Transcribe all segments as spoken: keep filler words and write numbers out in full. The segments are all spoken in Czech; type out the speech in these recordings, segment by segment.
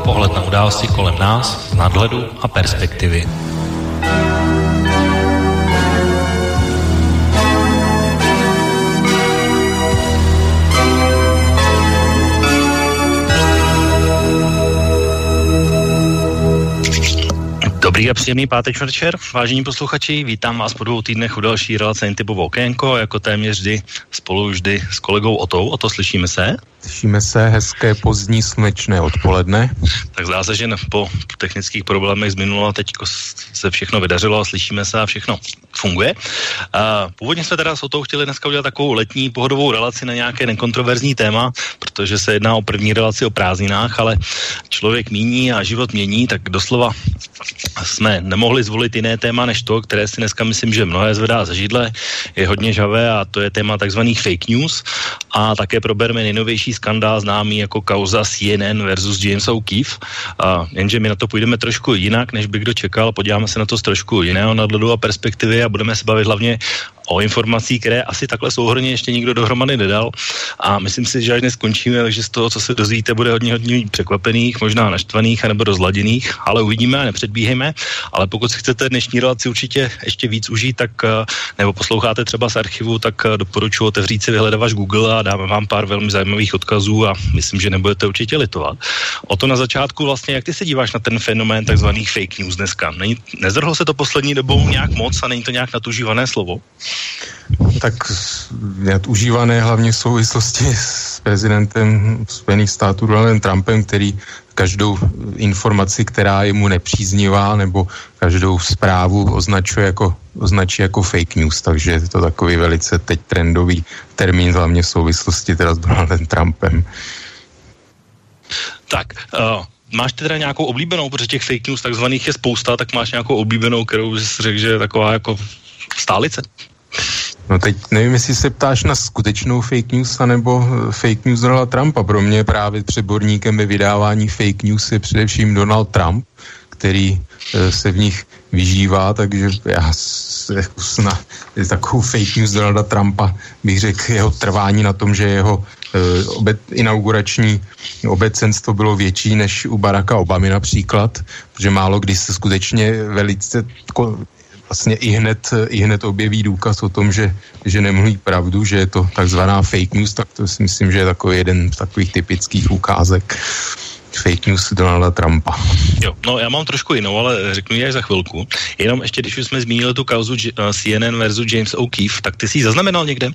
Pohled na události kolem nás z nadhledu a perspektivy. Dobrý a příjemný páteční večer, vážení posluchači, vítám vás po dvou týdnech u další relace Intypovo okénko, jako téměř vždy spolu vždy s kolegou Otou. Oto, slyšíme se? Slyšíme se, hezké pozdní slunečné odpoledne. Tak zdá se, že po technických problémech z minula teď se všechno vydařilo a slyšíme se a všechno funguje. A původně jsme teda s Otou chtěli dneska udělat takovou letní pohodovou relaci na nějaké nekontroverzní téma, protože se jedná o první relaci o prázdninách, ale člověk míní a život mění, tak doslova jsme nemohli zvolit jiné téma než to, které si dneska myslím, že mnohé zvedá za židle, je hodně žhavé a to je téma takzvaných fake news a také probereme nejnovější skandál známý jako kauza C N N versus James O'Keefe. A jenže my na to půjdeme trošku jinak, než by kdo čekal, podíváme se na to z trošku jiného nadhledu a perspektivy a budeme se bavit hlavně o informací, které asi takhle souhrnně ještě nikdo dohromady nedal a myslím si, že až dnes skončíme, takže z toho, co se dozvíte, bude hodně hodně překvapených, možná naštvaných anebo rozladěných, ale uvidíme a nepředbíhejme, ale pokud si chcete dnešní relaci určitě ještě víc užít, tak nebo posloucháte třeba z archivu, tak doporučuji otevřít si vyhledávač Google a dáme vám pár velmi zajímavých odkazů a myslím, že nebudete určitě litovat. O to na začátku vlastně, jak ty se díváš na ten fenomén takzvaných fake news dneska? Není, nezvrhlo se to poslední dobou nějak moc a není to nějak nadužívané slovo? Tak nadužívané hlavně v souvislosti s prezidentem Spojených států Donaldem Trumpem, který každou informaci, která je mu nepříznivá, nebo každou zprávu označuje jako, označí jako fake news, takže je to takový velice teď trendový termín, hlavně v souvislosti teda s Donaldem Trumpem. Tak, uh... máš teda nějakou oblíbenou, protože těch fake news takzvaných je spousta, tak máš nějakou oblíbenou, kterou jsi řekl, že je taková jako stálice? No teď nevím, jestli se ptáš na skutečnou fake news, anebo fake news Donalda Trumpa. Pro mě právě přeborníkem ve vydávání fake news je především Donald Trump, který se v nich vyžívá, takže já na takovou fake news Donalda Trumpa bych řekl jeho trvání na tom, že jeho Obe, inaugurační obecenstvo bylo větší než u Baracka Obamy například, protože málo kdy se skutečně velice vlastně i hned, i hned objeví důkaz o tom, že, že nemluví pravdu, že je to takzvaná fake news, tak to si myslím, že je takový jeden z takových typických ukázek fake news Donalda Trumpa. Jo, no já mám trošku jinou, ale řeknu ji až za chvilku. Jenom ještě, když už jsme zmínili tu kauzu C N N versus James O'Keefe, tak ty jsi ji zaznamenal někde?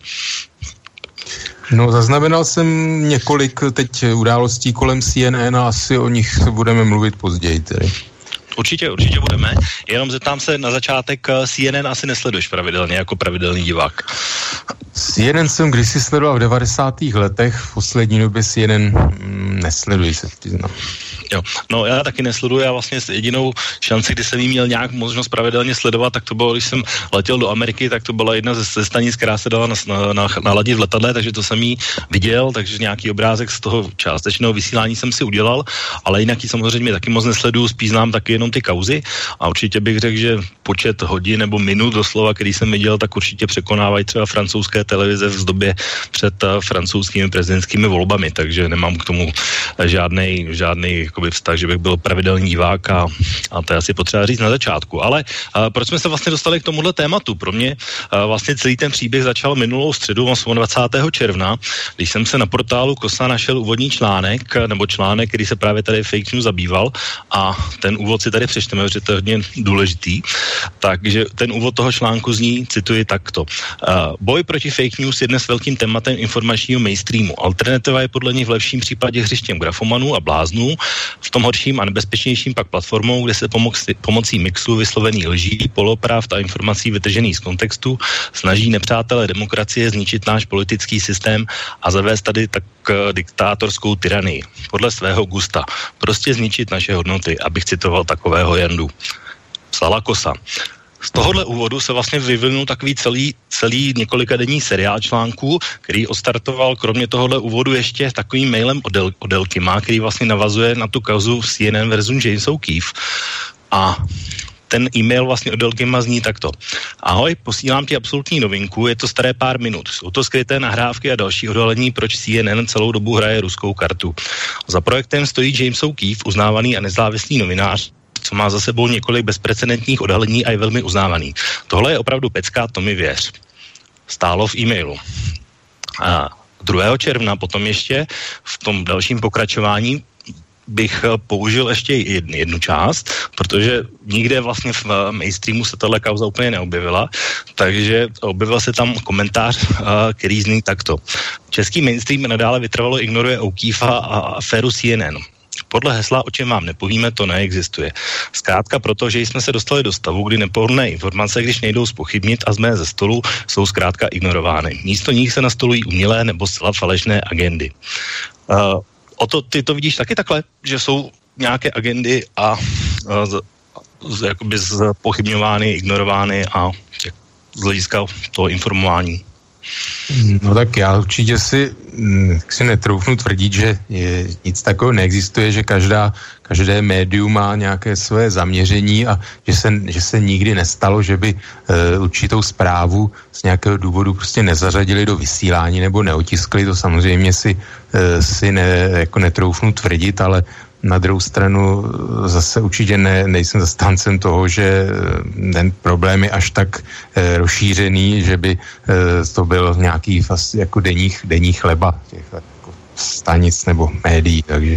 No, zaznamenal jsem několik teď událostí kolem C N N a asi o nich budeme mluvit později tedy. Určitě, určitě budeme. Jenom zeptám se na začátek, C N N asi nesleduješ pravidelně jako pravidelný divák. C N N jsem kdysi sledoval v devadesátých letech, v poslední době C N N mm, nesleduji, se přiznám. Jo, no já taky nesleduji, já vlastně jedinou šanci, kdy jsem jí měl nějak možnost pravidelně sledovat, tak to bylo, když jsem letěl do Ameriky, tak to byla jedna ze, ze stanic, která se dala na, na, na, naladit v letadle, takže to jsem jí viděl, takže nějaký obrázek z toho částečného vysílání jsem si udělal, ale jinak ji samozřejmě taky moc nesleduju, spíš znám taky jenom ty kauzy a určitě bych řekl, že počet hodin nebo minut doslova, který jsem viděl, tak určitě překonávají třeba francouzské televize v době před francouzskými prezidentskými volbami, takže nemám k tomu žádnej, žádnej jakoby vztah, že bych byl pravidelný divák a, a to je asi potřeba říct na začátku. Ale a, proč jsme se vlastně dostali k tomuhle tématu? Pro mě a, vlastně celý ten příběh začal minulou středu dvacátého června, když jsem se na portálu Kosa našel úvodní článek, nebo článek, který se právě tady fake news zabýval a ten úvod si tady přečteme, protože to je hodně důležitý. Takže ten úvod toho článku zní, cituji takto. Uh, boj proti fake news je dnes velkým tématem informačního mainstreamu. Alternativa je podle nich v lepším případě hřištěm grafomanů a bláznů, v tom horším a nebezpečnějším pak platformou, kde se pomoc, pomocí mixu vyslovených lží, polopravd a informací vytržených z kontextu snaží nepřátelé demokracie zničit náš politický systém a zavést tady tak diktátorskou tyranii. Podle svého gusta. Prostě zničit naše hodnoty, abych citoval takového Jandu. Psala Kosa. Z tohohle úvodu se vlastně vyvinul takový celý, celý několikadenní seriál článků, který odstartoval kromě tohohle úvodu ještě takovým mailem od, Del, od Delkima, který vlastně navazuje na tu kauzu C N N versus James O'Keefe. A ten e-mail vlastně od Elgima zní takto. Ahoj, posílám ti absolutní novinku, je to staré pár minut. Jsou to skryté nahrávky a další odhalení, proč C N N celou dobu hraje ruskou kartu. Za projektem stojí James O'Keefe, uznávaný a nezávislý novinář, co má za sebou několik bezprecedentních odhalení a je velmi uznávaný. Tohle je opravdu pecka, to mi věř. Stálo v e-mailu. A druhého června potom ještě v tom dalším pokračování bych použil ještě jednu, jednu část, protože nikde vlastně v mainstreamu se tato kauza úplně neobjevila, takže objevil se tam komentář, který zní takto. Český mainstream nadále vytrvalo ignoruje O'Keefa a aféru C N N. Podle hesla, o čem vám nepovíme, to neexistuje. Zkrátka proto, že jsme se dostali do stavu, kdy nepohodlné informace, když nejdou zpochybnit a z mé ze stolu, jsou zkrátka ignorovány. Místo nich se nastolují umělé nebo zcela falešné agendy. Uh, o to, ty to vidíš taky takhle, že jsou nějaké agendy a uh, z, z, jakoby zpochybňovány, ignorovány a z hlediska toho informování. No tak já určitě si, si netroufnu tvrdit, že je, nic takového neexistuje, že každá, každé médium má nějaké své zaměření a že se, že se nikdy nestalo, že by e, určitou zprávu z nějakého důvodu prostě nezařadili do vysílání nebo neotiskli, to samozřejmě si, e, si ne, jako netroufnu tvrdit, ale na druhou stranu zase určitě ne, nejsem zastáncem toho, že ten problém je až tak e, rozšířený, že by e, to byl nějaký vlastně jako denní, denní chleba těch jako stanic nebo médií, takže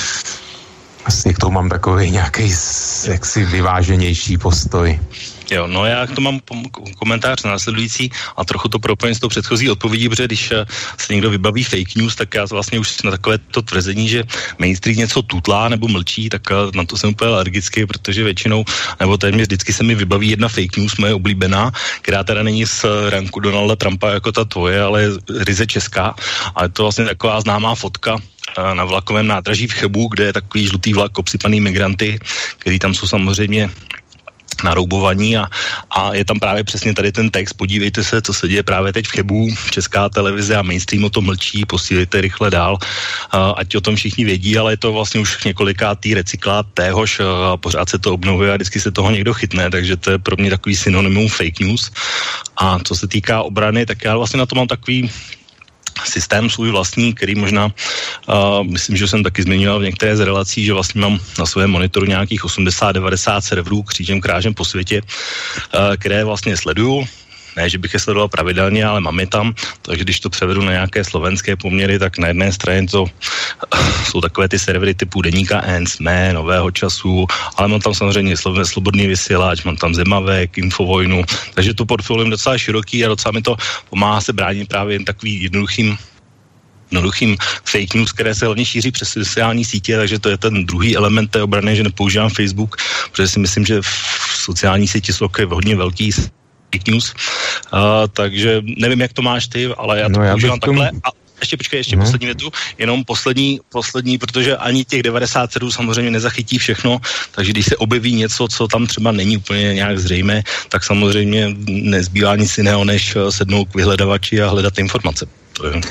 asi k tomu mám takový nějaký jaksi vyváženější postoj. Jo, no já k tomu mám komentář následující a trochu to propojím s tou předchozí odpovědí, protože když se někdo vybaví fake news, tak já vlastně už na takové to tvrzení, že mainstream něco tutlá nebo mlčí, tak na to jsem úplně alergický, protože většinou, nebo téměř vždycky se mi vybaví jedna fake news, moje oblíbená, která teda není z ranku Donalda Trumpa jako ta tvoje, ale je ryze česká a je to vlastně taková známá fotka na vlakovém nádraží v Chebu, kde je takový žlutý vlak obsypaný migranty, který tam jsou samozřejmě naroubovaní a, a je tam právě přesně tady ten text, podívejte se, co se děje právě teď v Chebu, Česká televize a mainstream o tom mlčí, posílejte rychle dál, a, ať o tom všichni vědí, ale je to vlastně už několikátý recyklát téhož a pořád se to obnovuje a vždycky se toho někdo chytne, takže to je pro mě takový synonymum fake news. A co se týká obrany, tak já vlastně na to mám takový systém svůj vlastní, který možná, uh, myslím, že jsem taky zmiňoval v některé z relací, že vlastně mám na svém monitoru nějakých osmdesát devadesát serverů křížem krážem po světě, uh, které vlastně sleduju. Ne, že bych je sledoval pravidelně, ale mám je tam, takže když to převedu na nějaké slovenské poměry, tak na jedné straně to jsou takové ty servery typu Deníka N, S M E, Nového času, ale mám tam samozřejmě Slobodný vysílač, mám tam Zemavek, Infovojnu, takže to portfolio je docela široký a docela mi to pomáhá se bránit právě jen takový jednoduchým jednoduchým fake news, které se hlavně šíří přes sociální sítě, takže to je ten druhý element té obrany, že nepoužívám Facebook, protože si myslím, že v sociální síti jsou hodně velký fake news, uh, takže nevím, jak to máš ty, ale já to no, používám tom... takhle a ještě počkej, ještě no. poslední větu, jenom poslední, poslední, protože ani těch devadesát sedm samozřejmě nezachytí všechno, takže když se objeví něco, co tam třeba není úplně nějak zřejmé, tak samozřejmě nezbývá nic jiného, než sednout k vyhledavači a hledat informace. To je...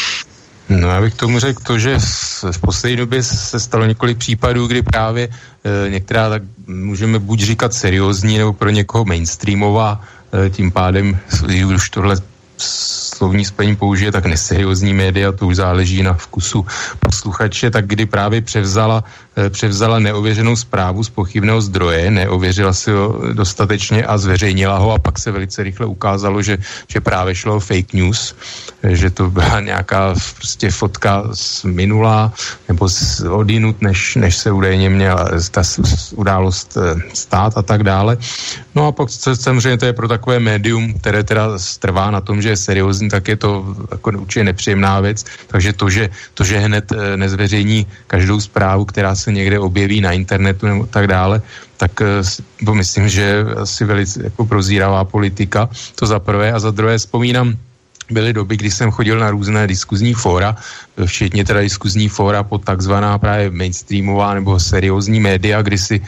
No já bych tomu řekl to, že v poslední době se stalo několik případů, kdy právě e, některá, tak můžeme buď říkat seriózní, nebo pro někoho mainstreamová, e, tím pádem, už tohle slovní spojení použije, tak neseriózní média, to už záleží na vkusu posluchače, tak kdy právě převzala, převzala neověřenou zprávu z pochybného zdroje, neověřila si ho dostatečně a zveřejnila ho a pak se velice rychle ukázalo, že, že právě šlo o fake news, že to byla nějaká prostě fotka z minula nebo z odinut, než, než se údajně měla ta událost stát a tak dále. No a pak samozřejmě to je pro takové médium, které teda trvá na tom, že je seriózní, tak je to jako určitě nepříjemná věc, takže to, že, to, že hned nezveřejní každou zprávu, která se někde objeví na internetu nebo tak dále, tak to myslím, že je asi velice jako prozíravá politika, to za prvé a za druhé vzpomínám, byly doby, kdy jsem chodil na různé diskuzní fóra, včetně teda diskuzní fóra pod takzvaná právě mainstreamová nebo seriózní média, kdy si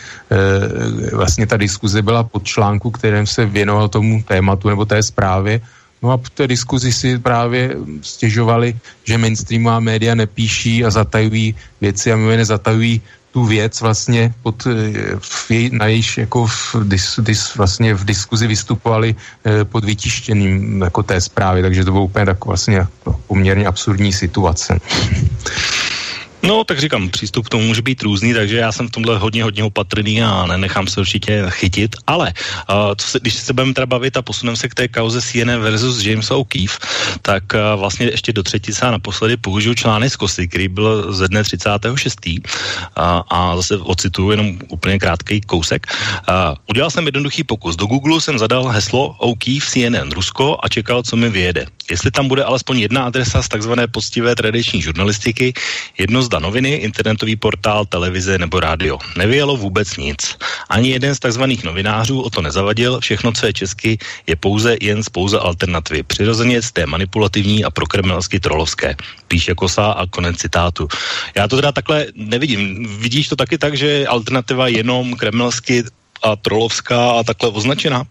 e, vlastně ta diskuze byla pod článku, kterým se věnoval tomu tématu nebo té zprávě. No a v té diskuzi si právě stěžovali, že mainstreamová média nepíší a zatajují věci a mimo jiné zatajují tu věc vlastně pod, v jej, na jejíž jako v, dis, dis, vlastně v diskuzi vystupovali eh, pod vytištěným jako té zprávy, takže to bylo úplně tak vlastně poměrně absurdní situace. No, tak říkám, přístup k tomu může být různý, takže já jsem v tomhle hodně, hodně opatrný a nenechám se určitě chytit, ale uh, co se, když se budeme teda bavit a posuneme se k té kauze C N N versus James O'Keefe, tak uh, vlastně ještě do třetice a naposledy použiju článek z Kosy, který byl ze dne třicátého šestého Uh, a zase ocituju jenom úplně krátký kousek. Uh, udělal jsem jednoduchý pokus. Do Google jsem zadal heslo O'Keefe C N N Rusko a čekal, co mi vyjede. Jestli tam bude alespoň jedna adresa z takzvané poctivé tradiční žurnalistiky, jedno z noviny, internetový portál, televize nebo rádio. Nevyjelo vůbec nic. Ani jeden z takzvaných novinářů o to nezavadil, všechno, co je česky, je pouze jen z pouze alternativy. Přirozeně z té manipulativní a prokremelsky trolovské. Píše Kosa a konec citátu. Já to teda takhle nevidím. Vidíš to taky tak, že je alternativa jenom kremelsky a trolovská a takhle označená?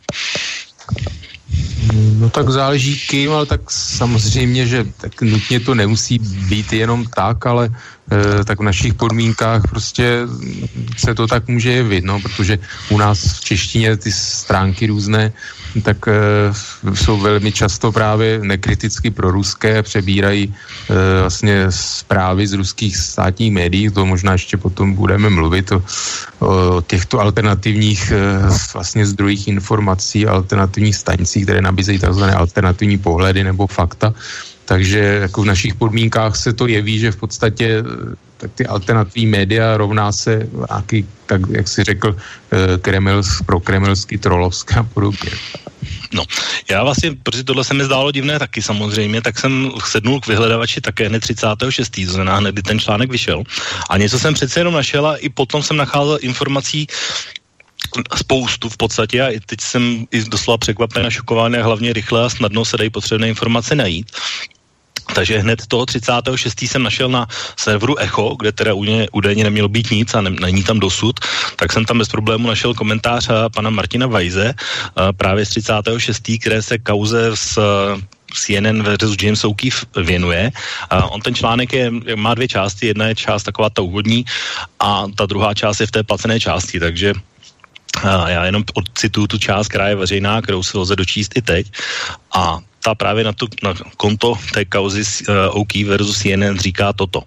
No tak záleží kým, ale tak samozřejmě, že tak nutně to nemusí být jenom tak, ale e, tak v našich podmínkách prostě se to tak může jevit, no, protože u nás v češtině ty stránky různé, tak e, jsou velmi často právě nekriticky proruské, přebírají e, vlastně zprávy z ruských státních médií, to možná ještě potom budeme mluvit o, o těchto alternativních e, vlastně zdrojích informací, alternativních stanicích, které nabízejí tzv. Alternativní pohledy nebo fakta. Takže jako v našich podmínkách se to jeví, že v podstatě tak ty alternativní média rovná se nějaký, tak jak si řekl, kremels, prokremelsky, trolovská a podobně. No, já vlastně, protože tohle se mi zdálo divné taky samozřejmě, tak jsem sednul k vyhledávači také hned třicátého šestého to znamená hned, kdy ten článek vyšel. A něco jsem přece jenom našel a i potom jsem nacházel informací spoustu v podstatě a i teď jsem i doslova překvapen a šokovaný a hlavně rychle a snadno se dají potřebné informace najít. Takže hned toho třicátého šestého jsem našel na serveru Echo, kde teda údajně nemělo být nic a ne, není tam dosud, tak jsem tam bez problému našel komentář pana Martina Weise právě z třicátého šestého které se kauze s C N N versus James O'Keefe věnuje. Uh, on ten článek je, má dvě části, jedna je část taková ta úvodní a ta druhá část je v té placené části, takže uh, já jenom odcituju tu část, která je veřejná, kterou se lze dočíst i teď a ta právě na, tu, na konto té kauzy uh, O'Keefe versus C N N říká toto.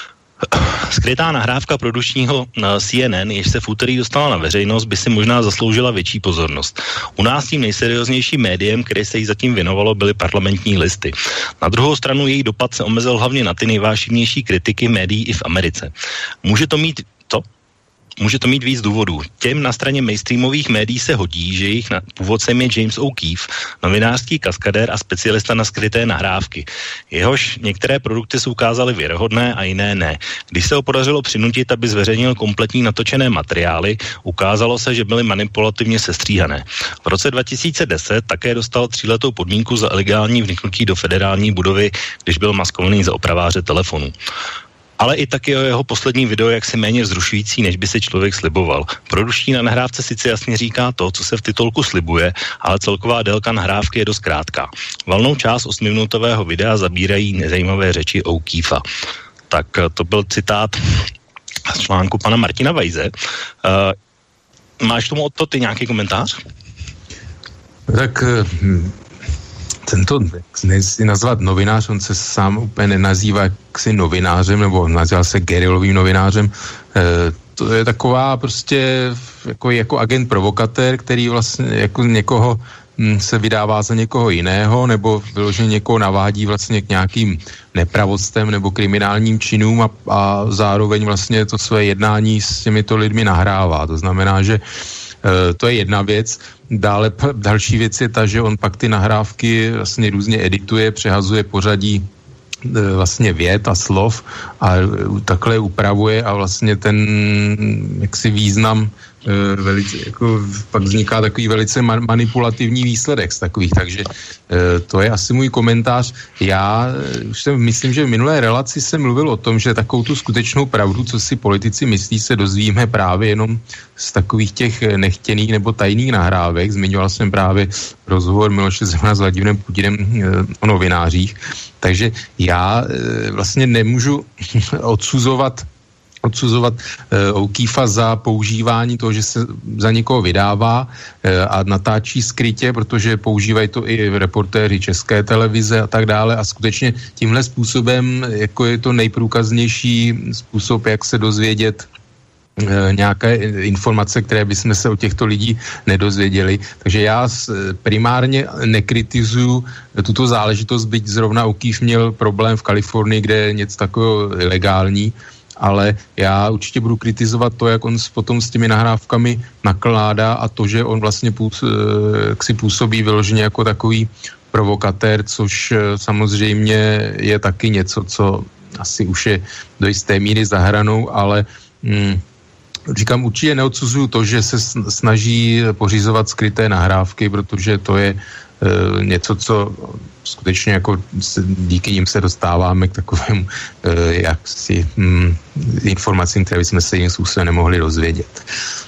Skrytá nahrávka produkčního C N N, jež se v úterý dostala na veřejnost, by si možná zasloužila větší pozornost. U nás tím nejserióznějším médiem, které se jí zatím věnovalo, byly parlamentní listy. Na druhou stranu její dopad se omezil hlavně na ty nejvážnější kritiky médií i v Americe. Může to mít to? Může to mít víc důvodů. Těm na straně mainstreamových médií se hodí, že jejich původcem je James O'Keefe, novinářský kaskadér a specialista na skryté nahrávky. Jehož některé produkty se ukázaly věrohodné a jiné ne. Když se ho podařilo přinutit, aby zveřejnil kompletní natočené materiály, ukázalo se, že byly manipulativně sestříhané. V roce dva tisíce deset také dostal tříletou podmínku za ilegální vniknutí do federální budovy, když byl maskovaný za opraváře telefonu. Ale i taky o jeho poslední video jaksi méně vzrušující, než by si člověk sliboval. Produkční na nahrávce sice jasně říká to, co se v titulku slibuje, ale celková délka nahrávky je dost krátká. Valnou část osmiminutového videa zabírají nezajímavé řeči O'Keefea. Tak to byl citát z článku pana Martina Weise. Uh, máš tomu od to ty nějaký komentář? Tak... Hm. Tento, nechci nazvat novinář, on se sám úplně nenazývá jaksi novinářem, nebo nazývá se gerilovým novinářem. E, to je taková prostě jako, jako agent provokatér, který vlastně jako někoho m, se vydává za někoho jiného, nebo vyloženě někoho navádí vlastně k nějakým nepravostem nebo kriminálním činům a, a zároveň vlastně to své jednání s těmito lidmi nahrává. To znamená, že e, to je jedna věc. Dále další věc je ta, že on pak ty nahrávky vlastně různě edituje, přehazuje pořadí e, vlastně vět a slov a takhle upravuje a vlastně ten jaksi význam e, velice, jako pak vzniká takový velice man, manipulativní výsledek z takových, takže e, to je asi můj komentář. Já už jsem, myslím, že v minulé relaci jsem mluvil o tom, že takovou tu skutečnou pravdu, co si politici myslí, se dozvíme právě jenom z takových těch nechtěných nebo tajných nahrávek. Zmiňoval jsem právě rozhovor Miloše Zemana s Vladimírem Putinem o novinářích. Takže já vlastně nemůžu odsuzovat odsuzovat e, O'Keefa za používání toho, že se za někoho vydává e, a natáčí skrytě, protože používají to i reportéři České televize a tak dále a skutečně tímhle způsobem jako je to nejprůkaznější způsob, jak se dozvědět e, nějaké informace, které bychom se od těchto lidí nedozvěděli. Takže já primárně nekritizuju tuto záležitost, byť zrovna O'Keefe měl problém v Kalifornii, kde je něco takového ilegální, ale já určitě budu kritizovat to, jak on potom s těmi nahrávkami nakládá a to, že on vlastně půs, jak si působí vyloženě jako takový provokatér, což samozřejmě je taky něco, co asi už je do jisté míry za hranou, ale hm, říkám, určitě neodsuzuju to, že se snaží pořizovat skryté nahrávky, protože to je e, něco, co skutečně jako se, díky nim se dostáváme k takovému e, jaksi hm, informacím, které bychom se jiným způsobem nemohli dozvědět.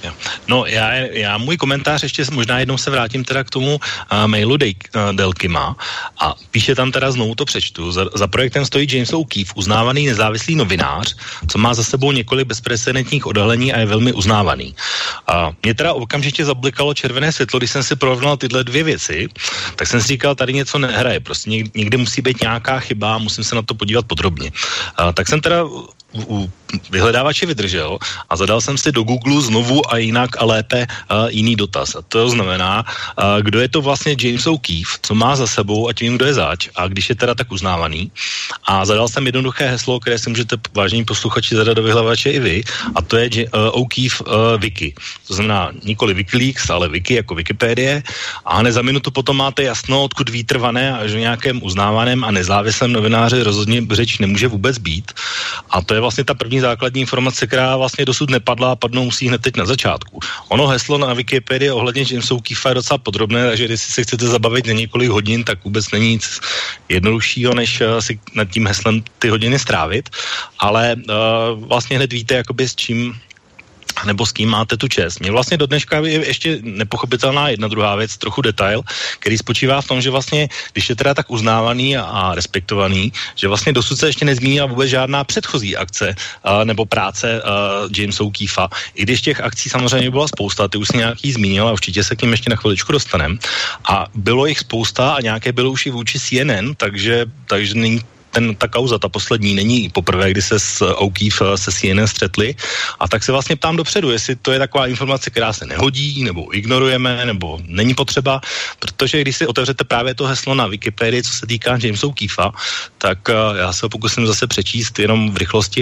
No já, já můj komentář ještě možná jednou se vrátím teda k tomu uh, mailu Dej, uh, Delkima a píše tam teda znovu to přečtu. Za, za projektem stojí James O'Keefe, uznávaný nezávislý novinář, co má za sebou několik bezprecedentních odhalení a je velmi uznávaný. A mě teda okamžitě zablikalo červené světlo, když jsem si porovnal tyhle dvě věci, tak jsem si říkal, tady něco nehraje, prostě někde musí být nějaká chyba, musím se na to podívat podrobně. A, tak jsem teda u vyhledávače vydržel a zadal jsem si do Google znovu a jinak a lépe uh, jiný dotaz. A to znamená, uh, kdo je to vlastně James O'Keefe, co má za sebou a tím, kdo je zač a když je teda tak uznávaný. A zadal jsem jednoduché heslo, které si můžete, vážení posluchači, zadat do vyhledávače i vy, a to je uh, O'Keefe uh, Wiki. To znamená nikoli Wikileaks, ale Wiki jako Wikipedie a hned za minutu potom máte jasno, odkud výtrvané a že nějakém uznávaném a nezávislém novináři rozhodně řeč nemůže vůbec být. A to je vlastně ta první základní informace, která vlastně dosud nepadla a padnou musí hned teď na začátku. Ono heslo na Wikipedii ohledně Jamesa O'Keefa je docela podrobné, takže když si se chcete zabavit na několik hodin, tak vůbec není nic jednoduššího, než si nad tím heslem ty hodiny strávit, ale uh, vlastně hned víte, jakoby s čím nebo s kým máte tu čest. Mně vlastně do dneška je ještě nepochopitelná jedna druhá věc, trochu detail, který spočívá v tom, že vlastně, když je teda tak uznávaný a, a respektovaný, že vlastně dosud se ještě nezmínila vůbec žádná předchozí akce a, nebo práce Jamesa O'Keefa. I když těch akcí samozřejmě byla spousta, ty už si nějaký zmínil a určitě se k ním ještě na chviličku dostanem. A bylo jich spousta a nějaké bylo už i vůči C N N, takže, takže není ten, ta kauza, ta poslední, není poprvé, kdy se s O'Keefe se C N N střetli. A tak se vlastně ptám dopředu, jestli to je taková informace, která se nehodí, nebo ignorujeme, nebo není potřeba, protože když si otevřete právě to heslo na Wikipedii, co se týká Jamesa O'Keefa, tak uh, já se ho pokusím zase přečíst jenom v rychlosti.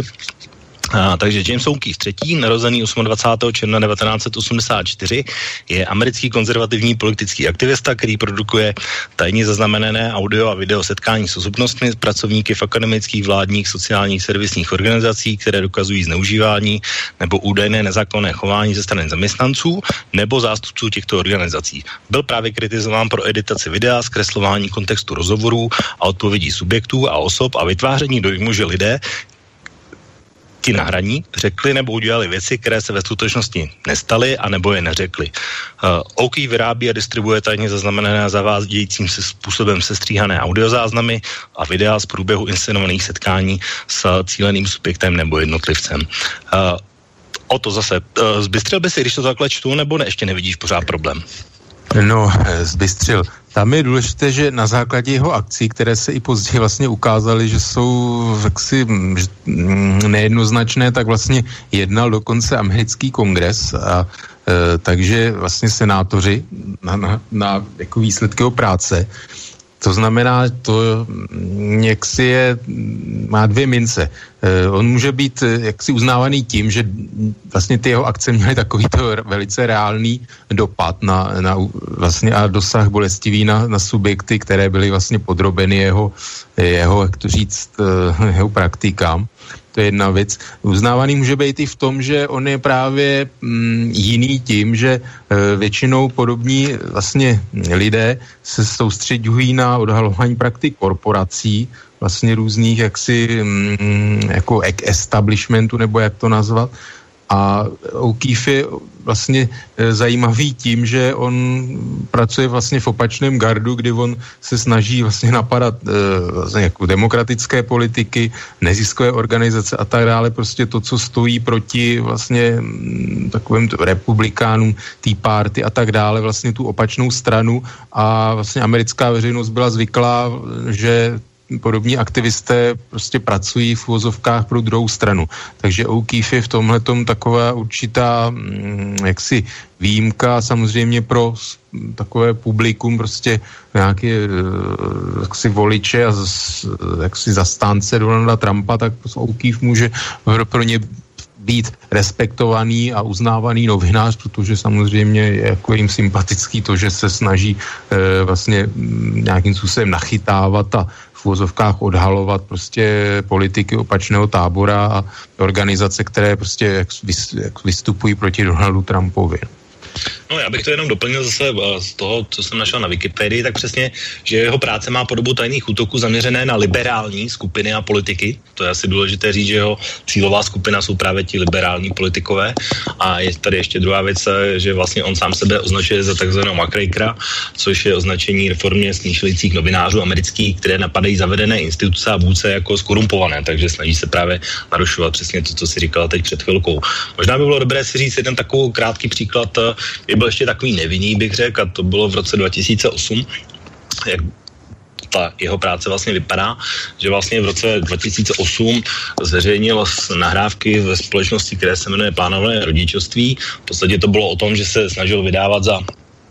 A, takže James O'Keefe třetí, narozený dvacátého osmého června devatenáct set osmdesát čtyři, je americký konzervativní politický aktivista, který produkuje tajně zaznamenané audio a video setkání s osobnostmi, pracovníky v akademických, vládních, sociálních, servisních organizací, které dokazují zneužívání nebo údajné nezákonné chování ze strany zaměstnanců nebo zástupců těchto organizací. Byl právě kritizován pro editaci videa, zkreslování kontextu rozhovorů a odpovědí subjektů a osob a vytváření dojmu, že lidé ti na hraní řekli nebo udělali věci, které se ve skutečnosti nestaly a nebo je neřekli. Uh, O'Keefe vyrábí a distribuje tajně zaznamenané a zavádějícím se způsobem sestříhané audiozáznamy a videa z průběhu inscenovaných setkání s cíleným subjektem nebo jednotlivcem. Uh, o to zase, uh, zbystřil by si, když to takhle čtu, nebo ne, ještě nevidíš pořád problém? No, zbystřil. Tam je důležité, že na základě jeho akcí, které se i později vlastně ukázaly, že jsou jaksi nejednoznačné, tak vlastně jednal dokonce americký kongres a e, takže vlastně senátoři na, na, na jako výsledky jeho práce. To znamená, to jaksi je, má dvě mince. E, on může být jaksi uznávaný tím, že vlastně ty jeho akce měly takovýto velice reálný dopad na, na vlastně a dosah bolestivý na, na subjekty, které byly vlastně podrobeny jeho, jeho, jak to říct, jeho praktikám. To je jedna věc. Uznávaný může být i v tom, že on je právě mm, jiný tím, že e, většinou podobní vlastně lidé se soustředují na odhalování praktik korporací, vlastně různých jaksi mm, jako establishmentu, nebo jak to nazvat. A O'Keefe je vlastně zajímavý tím, že on pracuje vlastně v opačném gardu, kdy on se snaží vlastně napadat vlastně jako demokratické politiky, neziskové organizace a tak dále, prostě to, co stojí proti vlastně takovým republikánům, Tea Party a tak dále, vlastně tu opačnou stranu, a vlastně americká veřejnost byla zvyklá, že podobní aktivisté prostě pracují v uvozovkách pro druhou stranu. Takže O'Keefe je v tomhletom taková určitá jaksi výjimka, samozřejmě pro takové publikum, prostě nějaké jaksi voliče a jaksi zastánce Donalda Trumpa, tak O'Keefe může pro ně být respektovaný a uznávaný novinář, protože samozřejmě je jako jim sympatický to, že se snaží e, vlastně nějakým způsobem nachytávat a v uvozovkách odhalovat prostě politiky opačného tábora a organizace, které prostě vystupují proti Donaldu Trumpovi. No, já bych to jenom doplnil zase z toho, co jsem našel na Wikipedii, tak přesně, že jeho práce má podobu tajných útoků zaměřené na liberální skupiny a politiky. To je asi důležité říct, že jeho cílová skupina jsou právě ti liberální politikové. A je tady ještě druhá věc, že vlastně on sám sebe označuje za takzvaného muckrakera, což je označení reformně smýšlejících novinářů amerických, které napadají zavedené instituce a vůdce jako skorumpované, takže snaží se právě narušovat přesně to, co si říkala teď před chvilkou. Možná by bylo dobré si říct jeden takový krátký příklad. Je byl ještě takový nevinný, bych řekl, a to bylo v roce dva tisíce osm, jak ta jeho práce vlastně vypadá, že vlastně v roce dva tisíce osm zveřejnil nahrávky ve společnosti, které se jmenuje Plánované rodičovství. V podstatě to bylo o tom, že se snažil vydávat za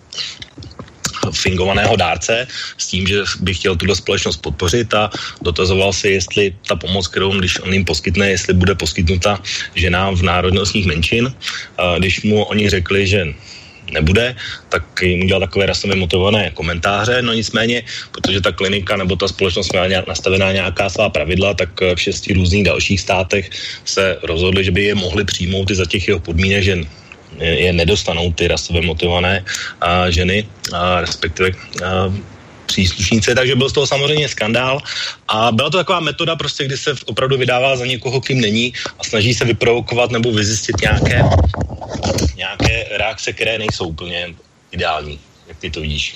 fingovaného dárce s tím, že by chtěl tuto společnost podpořit a dotazoval se, jestli ta pomoc, kterou když on jim poskytne, jestli bude poskytnuta ženám v národnostních menšin. A když mu oni řekli, že nebude, tak jim udělal takové rasově motivované komentáře, no nicméně, protože ta klinika nebo ta společnost měla nějak nastavená nějaká svá pravidla, tak v šesti různých dalších státech se rozhodli, že by je mohli přijmout i za těch jeho podmínek, že je nedostanou ty rasově motivované a ženy, a respektive a příslušnice, takže byl z toho samozřejmě skandál a byla to taková metoda prostě, kdy se opravdu vydává za někoho, kým není a snaží se vyprovokovat nebo vyzjistit nějaké, nějaké reakce, které nejsou úplně ideální. Jak ty to vidíš?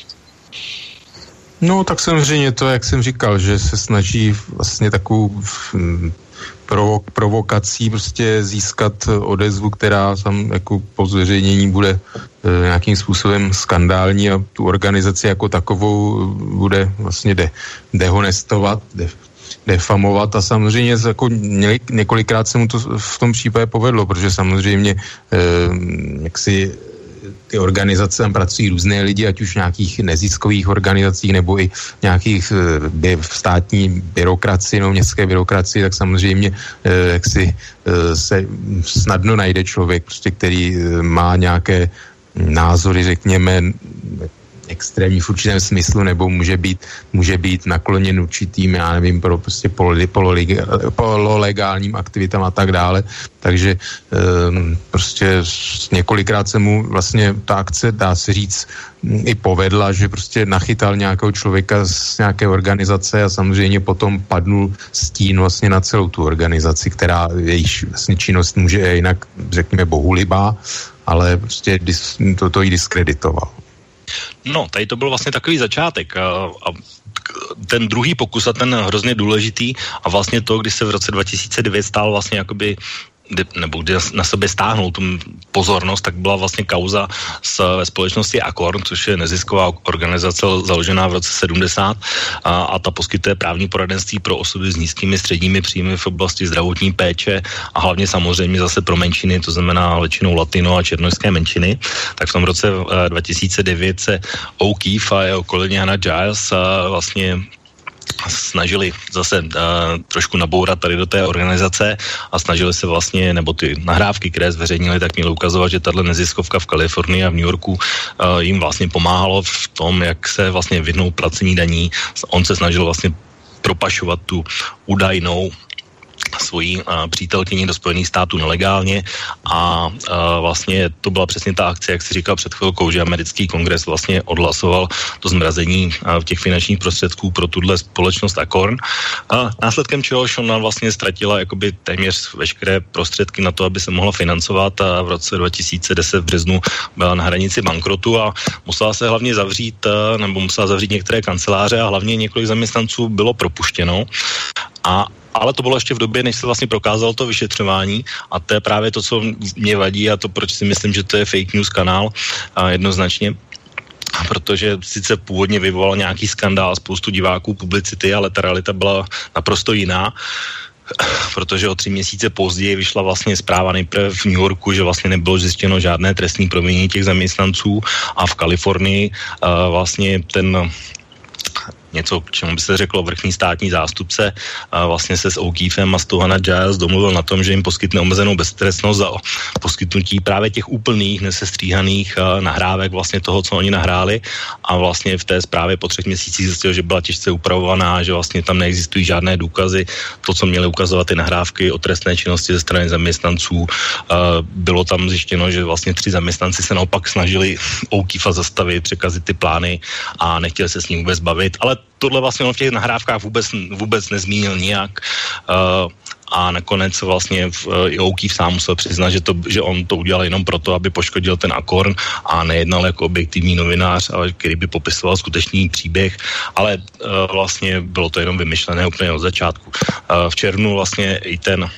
No tak samozřejmě to, jak jsem říkal, že se snaží vlastně takovou provo- provokací prostě získat odezvu, která tam jako po zveřejnění bude e, nějakým způsobem skandální a tu organizaci jako takovou bude vlastně de- dehonestovat, de- defamovat a samozřejmě jako několikrát se mu to v tom případě povedlo, protože samozřejmě e, jaksi ty organizace tam pracují různé lidi, ať už v nějakých neziskových organizacích nebo i nějakých by, v státní byrokracii nebo městské byrokracii, tak samozřejmě eh, jak si eh, se snadno najde člověk, prostě, který eh, má nějaké názory, řekněme, extrémní v určitém smyslu, nebo může být, může být nakloněn určitým, já nevím, pro prostě pololegálním aktivitám a tak dále. Takže um, prostě několikrát se mu vlastně ta akce, dá se říct, i povedla, že prostě nachytal nějakého člověka z nějaké organizace a samozřejmě potom padnul stín vlastně na celou tu organizaci, která jejíž vlastně činnost může jinak, řekněme, bohulibá, ale prostě to, to jí diskreditoval. No, tady to byl vlastně takový začátek a, a ten druhý pokus a ten hrozně důležitý a vlastně to, když se v roce dva tisíce devět stál vlastně jakoby nebo kde na sebe stáhnul tu pozornost, tak byla vlastně kauza s, ve společnosti Acorn, což je nezisková organizace založená v roce sedmdesát a, a ta poskytuje právní poradenství pro osoby s nízkými středními příjmy v oblasti zdravotní péče a hlavně samozřejmě zase pro menšiny, to znamená většinou latino a černošské menšiny. Tak v tom roce dva tisíce devět se O'Keefe a jeho kolegyně Hannah Giles a vlastně snažili zase uh, trošku nabourat tady do té organizace a snažili se vlastně, nebo ty nahrávky, které zveřejnili, tak měly ukazovat, že tato neziskovka v Kalifornii a v New Yorku uh, jim vlastně pomáhalo v tom, jak se vlastně vyhnout placení daní. On se snažil vlastně propašovat tu údajnou svojí uh, přítelkyni do Spojených států nelegálně a uh, vlastně to byla přesně ta akce, jak si říkal před chvilkou, že americký kongres vlastně odhlasoval to zmrazení uh, těch finančních prostředků pro tuhle společnost Acorn. A následkem čehož ona vlastně ztratila jakoby téměř veškeré prostředky na to, aby se mohla financovat a v roce dva tisíce deset v březnu byla na hranici bankrotu a musela se hlavně zavřít, uh, nebo musela zavřít některé kanceláře a hlavně několik zaměstnanců bylo propuštěno. A ale to bylo ještě v době, než se vlastně prokázalo to vyšetřování a to je právě to, co mě vadí a to, proč si myslím, že to je fake news kanál a jednoznačně. Protože sice původně vyvolal nějaký skandál, spoustu diváků, publicity, ale ta realita byla naprosto jiná. Protože o tři měsíce později vyšla vlastně zpráva nejprve v New Yorku, že vlastně nebylo zjištěno žádné trestní provinění těch zaměstnanců a v Kalifornii uh, vlastně ten něco, k čemu by se řeklo vrchní státní zástupce, a vlastně se s O'Keefem a Stohana Giles domluvil na tom, že jim poskytne omezenou beztrestnost za poskytnutí právě těch úplných, nesestříhaných uh, nahrávek vlastně toho, co oni nahráli a vlastně v té zprávě po třech měsících zjistil, že byla těžce upravovaná, že vlastně tam neexistují žádné důkazy, to, co měly ukazovat ty nahrávky o trestné činnosti ze strany zaměstnanců. Uh, bylo tam zjištěno, že vlastně tři zaměstnanci se naopak snažili O'Keefa zastavit, překazit ty plány a nechtěli se s ním vůbec bavit, ale tohle vlastně on v těch nahrávkách vůbec, vůbec nezmínil nijak uh, a nakonec vlastně uh, i O'Keefe sám musel přiznat, že, to, že on to udělal jenom proto, aby poškodil ten Acorn a nejednal jako objektivní novinář, ale který by popisoval skutečný příběh, ale uh, vlastně bylo to jenom vymyšlené úplně od začátku. Uh, v červnu vlastně i ten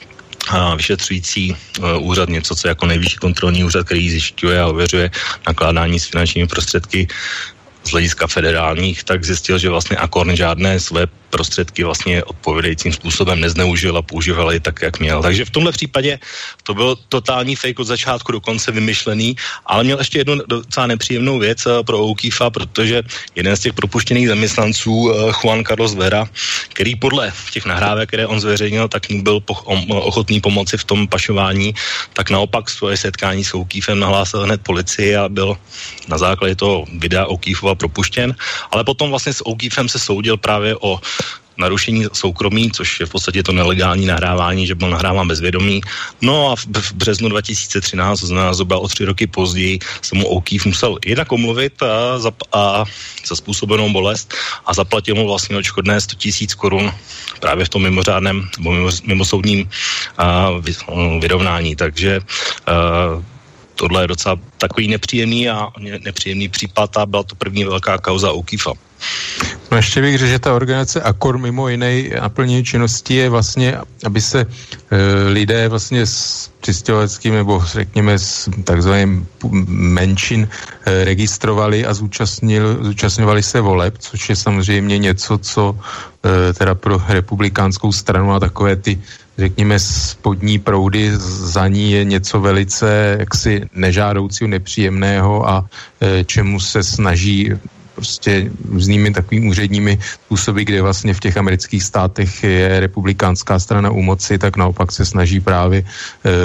a vyšetřující uh, úřad, něco, co jako nejvyšší kontrolní úřad, který zjišťuje a ověřuje nakládání s finančními prostředky z hlediska federálních, tak zjistil, že vlastně Acorn žádné své prostředky vlastně odpovědajícím způsobem nezneužil a používal je tak, jak měl. Takže v tomhle případě to byl totální fake od začátku do konce vymyšlený, ale měl ještě jednu docela nepříjemnou věc pro O'Keefa, protože jeden z těch propuštěných zaměstnanců, Juan Carlos Vera, který podle těch nahrávek, které on zveřejnil, tak mu byl ochotný pomoci v tom pašování, tak naopak svoje setkání s O'Keefem nahlásil hned policii a byl na základě toho videa O'Keefova propuštěn, ale potom vlastně s O'Keefem se soudil právě o narušení soukromí, což je v podstatě to nelegální nahrávání, že byl nahráván bez vědomí. No a v, v březnu dva tisíce třináct, to znamená zhruba o tři roky později, se mu O'Keefe musel jednak omluvit a za, a za způsobenou bolest a zaplatil mu vlastně odškodné sto tisíc korun právě v tom mimořádném nebo mimo, mimosoudním a, vy, vyrovnání. Takže a, tohle je docela takový nepříjemný a nepříjemný případ a byla to první velká kauza O'Keefa. No ještě bych řekl, že ta organizace Acorn mimo jiné naplnění činnosti je vlastně, aby se e, lidé vlastně s přistěhovaleckým nebo řekněme s takzvaným menšin e, registrovali a zúčastnil, zúčastňovali se voleb, což je samozřejmě něco, co e, teda pro republikánskou stranu a takové ty řekněme spodní proudy za ní je něco velice jaksi nežádoucího, nepříjemného a e, čemu se snaží prostě různými takovými úředními způsoby, kde vlastně v těch amerických státech je republikánská strana u moci, tak naopak se snaží právě e,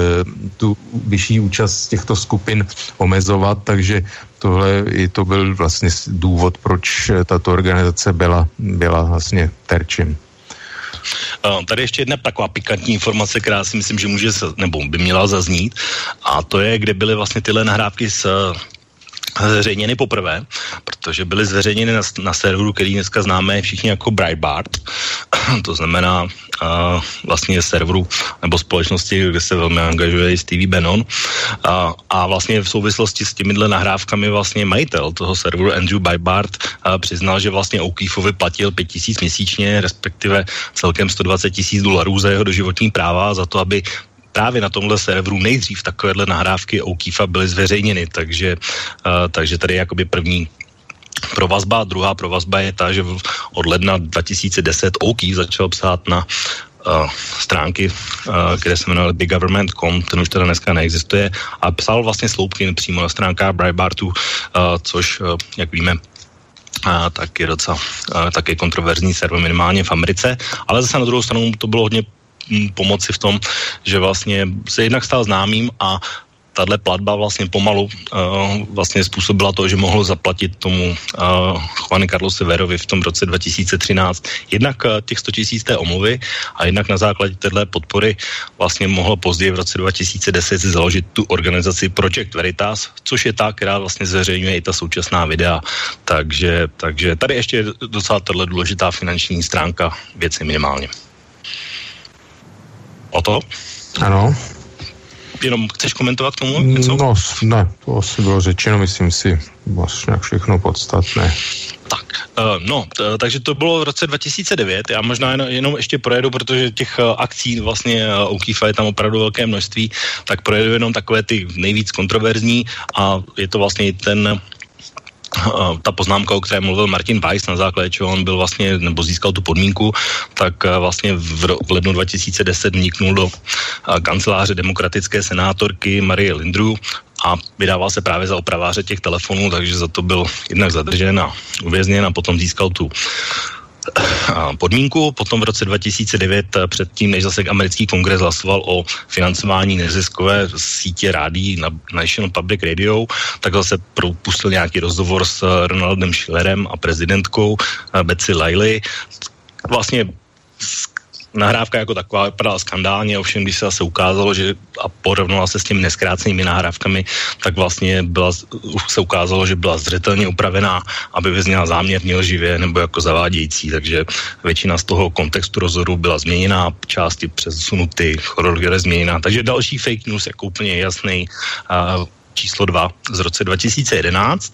tu vyšší účast těchto skupin omezovat, takže tohle i to byl vlastně důvod, proč tato organizace byla, byla vlastně terčem. Uh, tady ještě jedna taková pikantní informace, která si myslím, že může, nebo by měla zaznít, a to je, kde byly vlastně tyhle nahrávky s zveřejněny poprvé, protože byly zveřejněny na, na serveru, který dneska známe všichni jako Breitbart, to znamená uh, vlastně serveru nebo společnosti, kde se velmi angažuje i Stevie Bannon a, a vlastně v souvislosti s těmihle nahrávkami vlastně majitel toho serveru Andrew Breitbart uh, přiznal, že vlastně O'Keefovi platil pět tisíc měsíčně, respektive celkem sto dvacet tisíc dolarů za jeho doživotní práva, za to, aby právě na tomhle serveru nejdřív takovéhle nahrávky O'Keefa byly zveřejněny, takže, uh, takže tady je jakoby první provazba. Druhá provazba je ta, že od ledna dva tisíce deset O'Keefe začal psát na uh, stránky, uh, které se jmenovaly big government tečka com, ten už teda dneska neexistuje, a psal vlastně sloupky přímo na stránkách Breitbartu, uh, což, uh, jak víme, uh, tak je docela uh, taky kontroverzní server minimálně v Americe, ale zase na druhou stranu to bylo hodně pomoci v tom, že vlastně se jednak stal známým a tahle platba vlastně pomalu uh, vlastně způsobila to, že mohl zaplatit tomu uh, Juanu Carlosi Verovi v tom roce dva tisíce třináct jednak uh, těch sto tisíc té omluvy a jednak na základě téhle podpory vlastně mohlo později v roce dva tisíce deset založit tu organizaci Project Veritas, což je ta, která vlastně zveřejňuje i ta současná videa. Takže, takže tady ještě je docela tahle důležitá finanční stránka věci minimálně. O to? Ano. Jenom chceš komentovat k tomu něco? No, ne, to asi bylo řečeno, myslím si, vlastně všechno podstatné. Tak, uh, no, t- takže to bylo v roce dva tisíce devět, já možná jen, jenom ještě projedu, protože těch uh, akcí vlastně uh, O'Keefe je tam opravdu velké množství, tak projedu jenom takové ty nejvíc kontroverzní a je to vlastně ten ta poznámka, o které mluvil Martin Weiss, na základě čeho on byl vlastně, nebo získal tu podmínku, tak vlastně v, v lednu dva tisíce deset vniknul do kanceláře demokratické senátorky Marie Lindru a vydával se právě za opraváře těch telefonů, takže za to byl jednak zadržen a uvězněn a potom získal tu podmínku. Potom v roce dva tisíce devět, předtím, než zase americký kongres hlasoval o financování neziskové sítě rádií na National Public Radio, tak zase propustil nějaký rozhovor s Ronaldem Schillerem a prezidentkou Betsy Riley. Vlastně nahrávka jako taková vypadala skandálně, ovšem když se zase ukázalo, že a porovnala se s těmi neskrácenými nahrávkami, tak vlastně byla, se ukázalo, že byla zřetelně upravená, aby vyzněla záměrně lživě nebo jako zavádějící, takže většina z toho kontextu rozhodu byla změněná, části přesunuty, chronologie změněná, takže další fake news jako úplně jasný uh, číslo dva z roce dva tisíce jedenáct.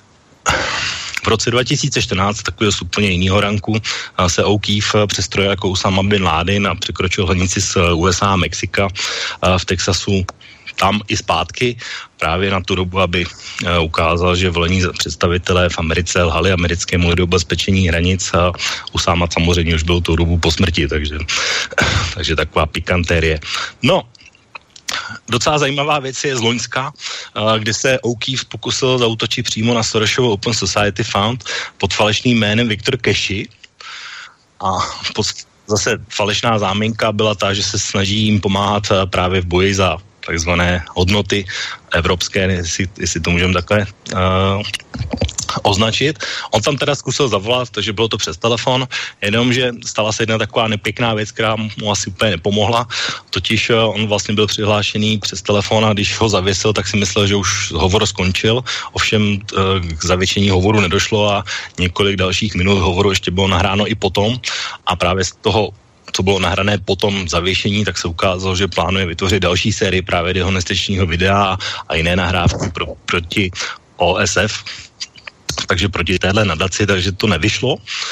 V roce dva tisíce čtrnáct, takového z úplně jiného ranku, se O'Keefe přestrojil jako Usama bin Laden a překročil hranici z U S A a Mexika v Texasu tam i zpátky, právě na tu dobu, aby ukázal, že volení představitelé v Americe lhali americkému lidu bezpečení hranic a Usama samozřejmě už byl tou dobu po smrti, takže, takže taková pikantérie. No, docela zajímavá věc je z Loňska, kde se O'Keefe pokusil zaútočit přímo na Sorosovou Open Society Fund pod falešným jménem Viktor Keshi a pod, zase falešná záminka byla ta, že se snaží jim pomáhat právě v boji za takzvané hodnoty evropské, jestli, jestli to můžeme takhle uh, označit. On tam teda zkusil zavolat, takže bylo to přes telefon, jenomže stala se jedna taková nepěkná věc, která mu asi úplně nepomohla. Totiž on vlastně byl přihlášený přes telefon a když ho zavěsil, tak si myslel, že už hovor skončil. Ovšem k zavěšení hovoru nedošlo a několik dalších minut hovoru ještě bylo nahráno i potom a právě z toho, co bylo nahrané potom zavěšení, tak se ukázalo, že plánuje vytvořit další sérii právě dehonestačního videa a jiné nahrávky pro, proti O S F, takže proti téhle nadaci, takže to nevyšlo.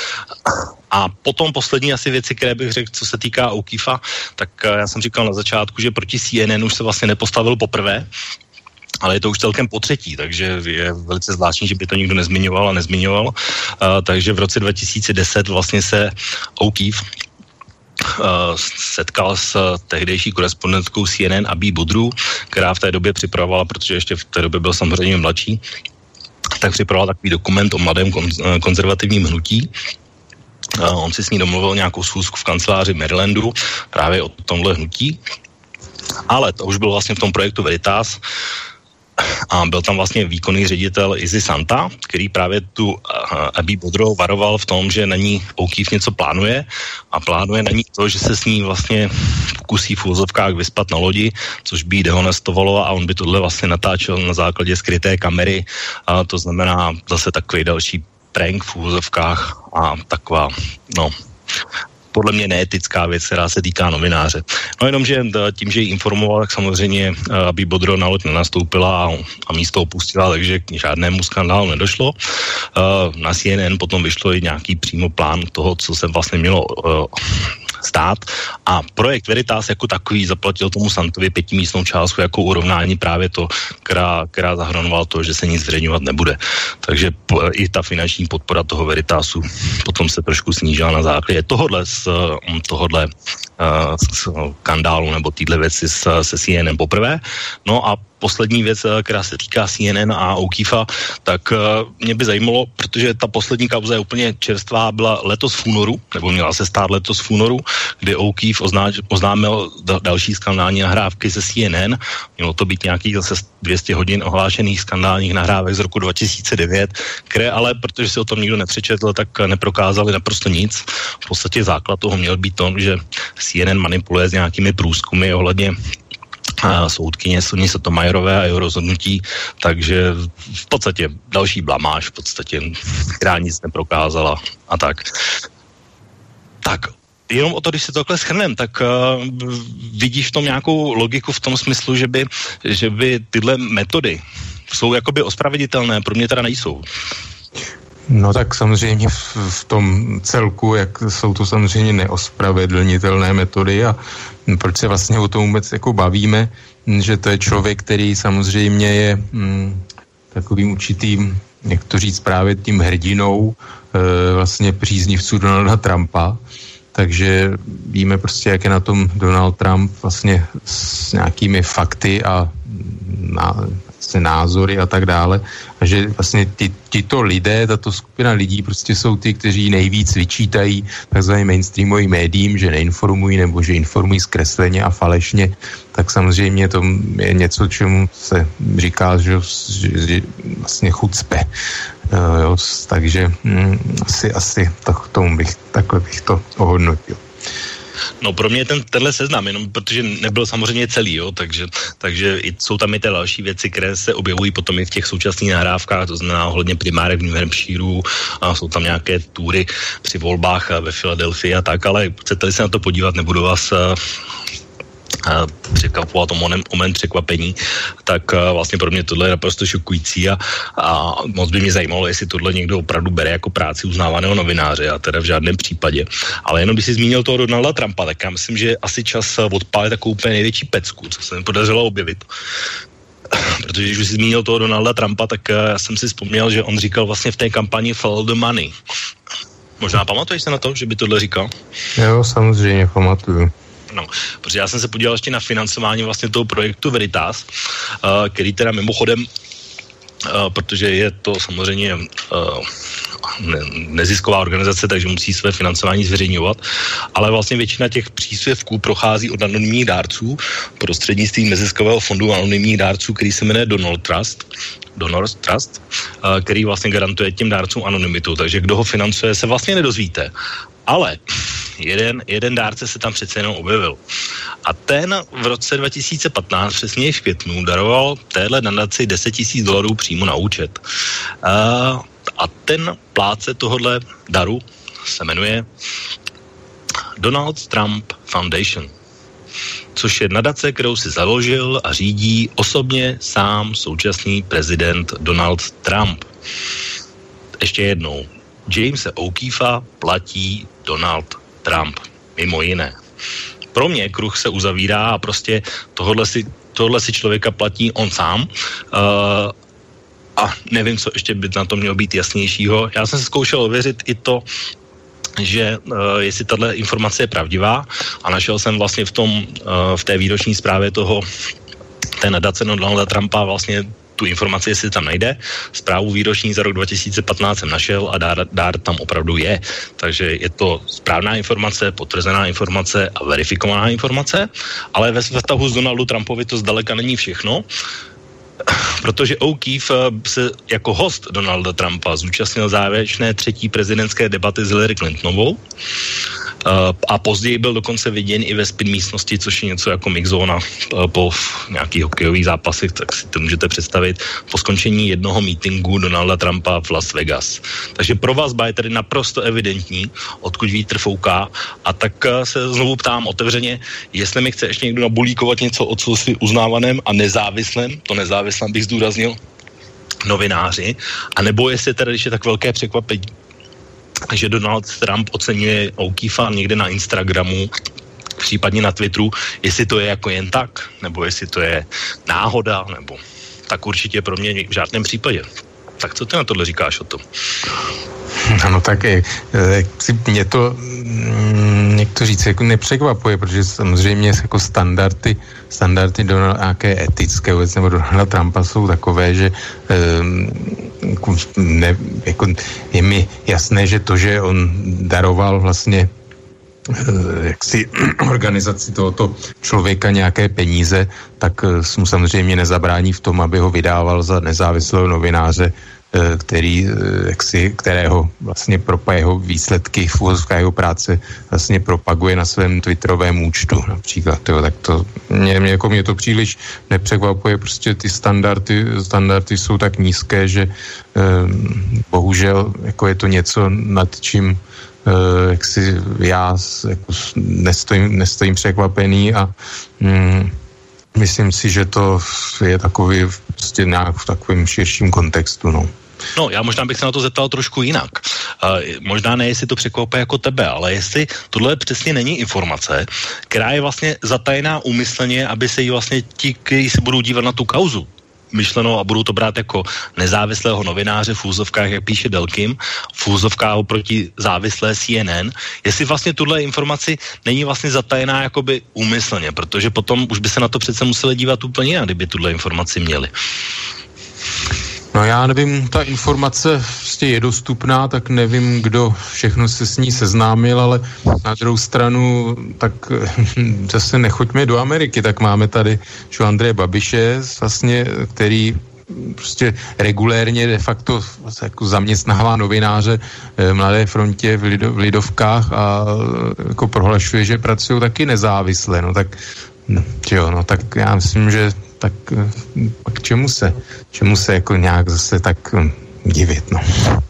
A potom poslední asi věci, které bych řekl, co se týká O'Keefa, tak já jsem říkal na začátku, že proti C N N už se vlastně nepostavil poprvé, ale je to už celkem po třetí, takže je velice zvláštní, že by to nikdo nezmiňoval a nezmiňoval. Uh, takže v roce dva tisíce deset vlastně se O'Keefe Uh, setkal s tehdejší korespondentkou C N N Abby Budru, která v té době připravovala, protože ještě v té době byl samozřejmě mladší, tak připravoval takový dokument o mladém kon- konzervativním hnutí. Uh, on si s ní domluvil nějakou schůzku v kanceláři Marylandu právě o tomhle hnutí, ale to už bylo vlastně v tom projektu Veritas a byl tam vlastně výkonný ředitel Izzy Santa, který právě tu uh, Abby Budru varoval v tom, že na ní O'Keefe něco plánuje a plánuje na ní to, že se s ní vlastně pokusí v úvozovkách vyspat na lodi, což by jí dehonestovalo a on by tohle vlastně natáčel na základě skryté kamery, a to znamená zase takový další prank v úvozovkách a taková, no, podle mě neetická věc, která se týká novináře. No jenom, že tím, že ji informoval, tak samozřejmě, aby Bodro na loď nenastoupila a, a místo opustila, takže k žádnému skandálu nedošlo. Na C N N potom vyšlo i nějaký přímo plán toho, co se vlastně mělo stát a projekt Veritas jako takový zaplatil tomu Santovi pětimístnou částku jako urovnání právě to, která, která zahrnovala to, že se nic zveřejňovat nebude. Takže po, i ta finanční podpora toho Veritasu potom se trošku snížila na základě tohodle z tohodle uh, skandálu nebo týhle věci se C N N poprvé. No a poslední věc, která se týká C N N a O'Keefa, tak mě by zajímalo, protože ta poslední kauza je úplně čerstvá, byla letos v únoru, nebo měla se stát letos v únoru, kdy O'Keefe oznámil další skandální nahrávky ze C N N. Mělo to být nějakých zase dvě stě hodin ohlášených skandálních nahrávek z roku dva tisíce devět, které ale, protože si o tom nikdo nepřečetl, tak neprokázali naprosto nic. V podstatě základ toho měl být to, že C N N manipuluje s nějakými průzkumy ohledně a soudkyně Soni Sotomayorové a jeho rozhodnutí, takže v podstatě další blamáž, v podstatě, která nic neprokázala a tak. Tak, jenom o to, když se to takhle shrnem, tak uh, vidíš v tom nějakou logiku v tom smyslu, že by, že by tyhle metody jsou jakoby ospravedlnitelné, pro mě teda nejsou. No tak samozřejmě v, v tom celku, jak jsou to samozřejmě neospravedlnitelné metody a proč se vlastně o tom vůbec jako bavíme, že to je člověk, který samozřejmě je mm, takovým určitým, jak to říct, právě tím hrdinou e, vlastně příznivců Donalda Trumpa, takže víme prostě, jak je na tom Donald Trump vlastně s nějakými fakty a na, vlastně názory a tak dále. A že vlastně ty, tyto lidé, tato skupina lidí prostě jsou ty, kteří nejvíc vyčítají takzvaným mainstreamovým médiím, že neinformují nebo že informují zkresleně a falešně, tak samozřejmě to je něco, čemu se říká, že, že vlastně chucpe. Uh, jo, takže mm, asi, asi tak, tomu bych, takhle bych to ohodnotil. No pro mě ten, tenhle seznam, jenom protože nebyl samozřejmě celý, jo, takže, takže i, jsou tam i ty další věci, které se objevují potom i v těch současných nahrávkách, to znamená ohledně primárek v New Hampshireu a jsou tam nějaké túry při volbách ve Filadelfii a tak, ale chcete-li se na to podívat, nebudu vás překvapovat o moment překvapení, tak vlastně pro mě tohle je naprosto šokující a, a moc by mě zajímalo, jestli tohle někdo opravdu bere jako práci uznávaného novináře, a teda v žádném případě. Ale jenom když jsi zmínil toho Donalda Trumpa, tak já myslím, že je asi čas odpálit takovou úplně největší pecku, co se mi podařilo objevit. Protože když jsi zmínil toho Donalda Trumpa, tak já jsem si vzpomněl, že on říkal vlastně v té kampani Follow the money. Možná pamatuješ se na to, že by tohle říkal? Jo, samozřejmě pamatuju. No, protože já jsem se podíval ještě na financování vlastně toho projektu Veritas, uh, který teda mimochodem, uh, protože je to samozřejmě uh, ne, nezisková organizace, takže musí své financování zveřejňovat, ale vlastně většina těch příspěvků prochází od anonymních dárců prostřednictvím neziskového fondu anonymních dárců, který se jmenuje Donor Trust, Donor Trust, uh, který vlastně garantuje těm dárcům anonymitu, takže kdo ho financuje, se vlastně nedozvíte. Ale jeden, jeden dárce se tam přece jenom objevil. A ten v roce dva tisíce patnáct, přesně v květnu, daroval téhle nadaci deset tisíc dolarů přímo na účet. A, a ten plátce tohohle daru se jmenuje Donald Trump Foundation, což je nadace, kterou si založil a řídí osobně sám současný prezident Donald Trump. Ještě jednou. Jamese O'Keefa platí Donald Trump, mimo jiné. Pro mě kruh se uzavírá a prostě tohle si, tohle si člověka platí on sám. Uh, a nevím, co ještě by na to mělo být jasnějšího. Já jsem se zkoušel ověřit i to, že uh, jestli tato informace je pravdivá, a našel jsem vlastně v tom, uh, v té výroční zprávě toho, té nadace Donalda Trumpa vlastně tu informaci, jestli tam najde. Zprávu výroční za rok dva tisíce patnáct jsem našel a dár, dár tam opravdu je. Takže je to správná informace, potvrzená informace a verifikovaná informace, ale ve vztahu s Donaldu Trumpovi to zdaleka není všechno, protože O'Keefe se jako host Donalda Trumpa zúčastnil závěrečné třetí prezidentské debaty s Hillary Clintonovou a později byl dokonce viděn i ve spin místnosti, což je něco jako mixzóna po nějakých hokejových zápasech, tak si to můžete představit, po skončení jednoho meetingu Donalda Trumpa v Las Vegas. Takže pro vás je tedy naprosto evidentní, odkud vítr fouká, a tak se znovu ptám otevřeně, jestli mi chce ještě někdo nabulíkovat něco o cosi uznávaném a nezávislém, to nezávislém bych zdůraznil, novináři, anebo jestli teda, když je tak velké překvapení, že Donald Trump oceňuje O'Keefa někde na Instagramu, případně na Twitteru, jestli to je jako jen tak, nebo jestli to je náhoda, nebo tak určitě pro mě v žádném případě. Tak co ty na tohle říkáš o tom? Ano, tak je, mě to, jak to říct, jako nepřekvapuje, protože samozřejmě jako standardy, standardy Donald, nějaké etické vůbec, nebo Donalda Trumpa jsou takové, že ne, jako je mi jasné, že to, že on daroval vlastně jaksi organizaci tohoto člověka nějaké peníze, tak mu samozřejmě nezabrání v tom, aby ho vydával za nezávislého novináře, který, jaksi, kterého vlastně pro jeho výsledky v úvozovkách jeho práce vlastně propaguje na svém twitterovém účtu například. Jo, tak to mě, mě, jako mě to příliš nepřekvapuje, prostě ty standardy, standardy jsou tak nízké, že eh, bohužel jako je to něco, nad čím eh, jak si já jako nestojím, nestojím překvapený a mm, myslím si, že to je takový prostě nějak v takovém širším kontextu, no. No, já možná bych se na to zeptal trošku jinak. Uh, možná ne, jestli to překvapuje jako tebe, ale jestli tohle přesně není informace, která je vlastně zatajená úmyslně, aby se jí vlastně ti, kteří se budou dívat na tu kauzu, myšleno a budou to brát jako nezávislého novináře v úzovkách, jak píše Delkim, v úzovkách oproti závislé C N N, jestli vlastně tuhle informaci není vlastně zatajená jakoby úmyslně, protože potom už by se na to přece museli dívat úplně jinak, kdyby tuhle informaci měli. No já nevím, ta informace prostě je dostupná, tak nevím, kdo všechno se s ní seznámil, ale na druhou stranu, tak zase nechoďme do Ameriky, tak máme tady že Andreje Babiše, vlastně, který prostě regulérně de facto jako zaměstnává novináře v Mladé frontě v, Lido, v Lidovkách a jako prohlašuje, že pracují taky nezávisle, no tak no, jo, no tak já myslím, že tak k čemu se, čemu se jako nějak zase tak divit, no.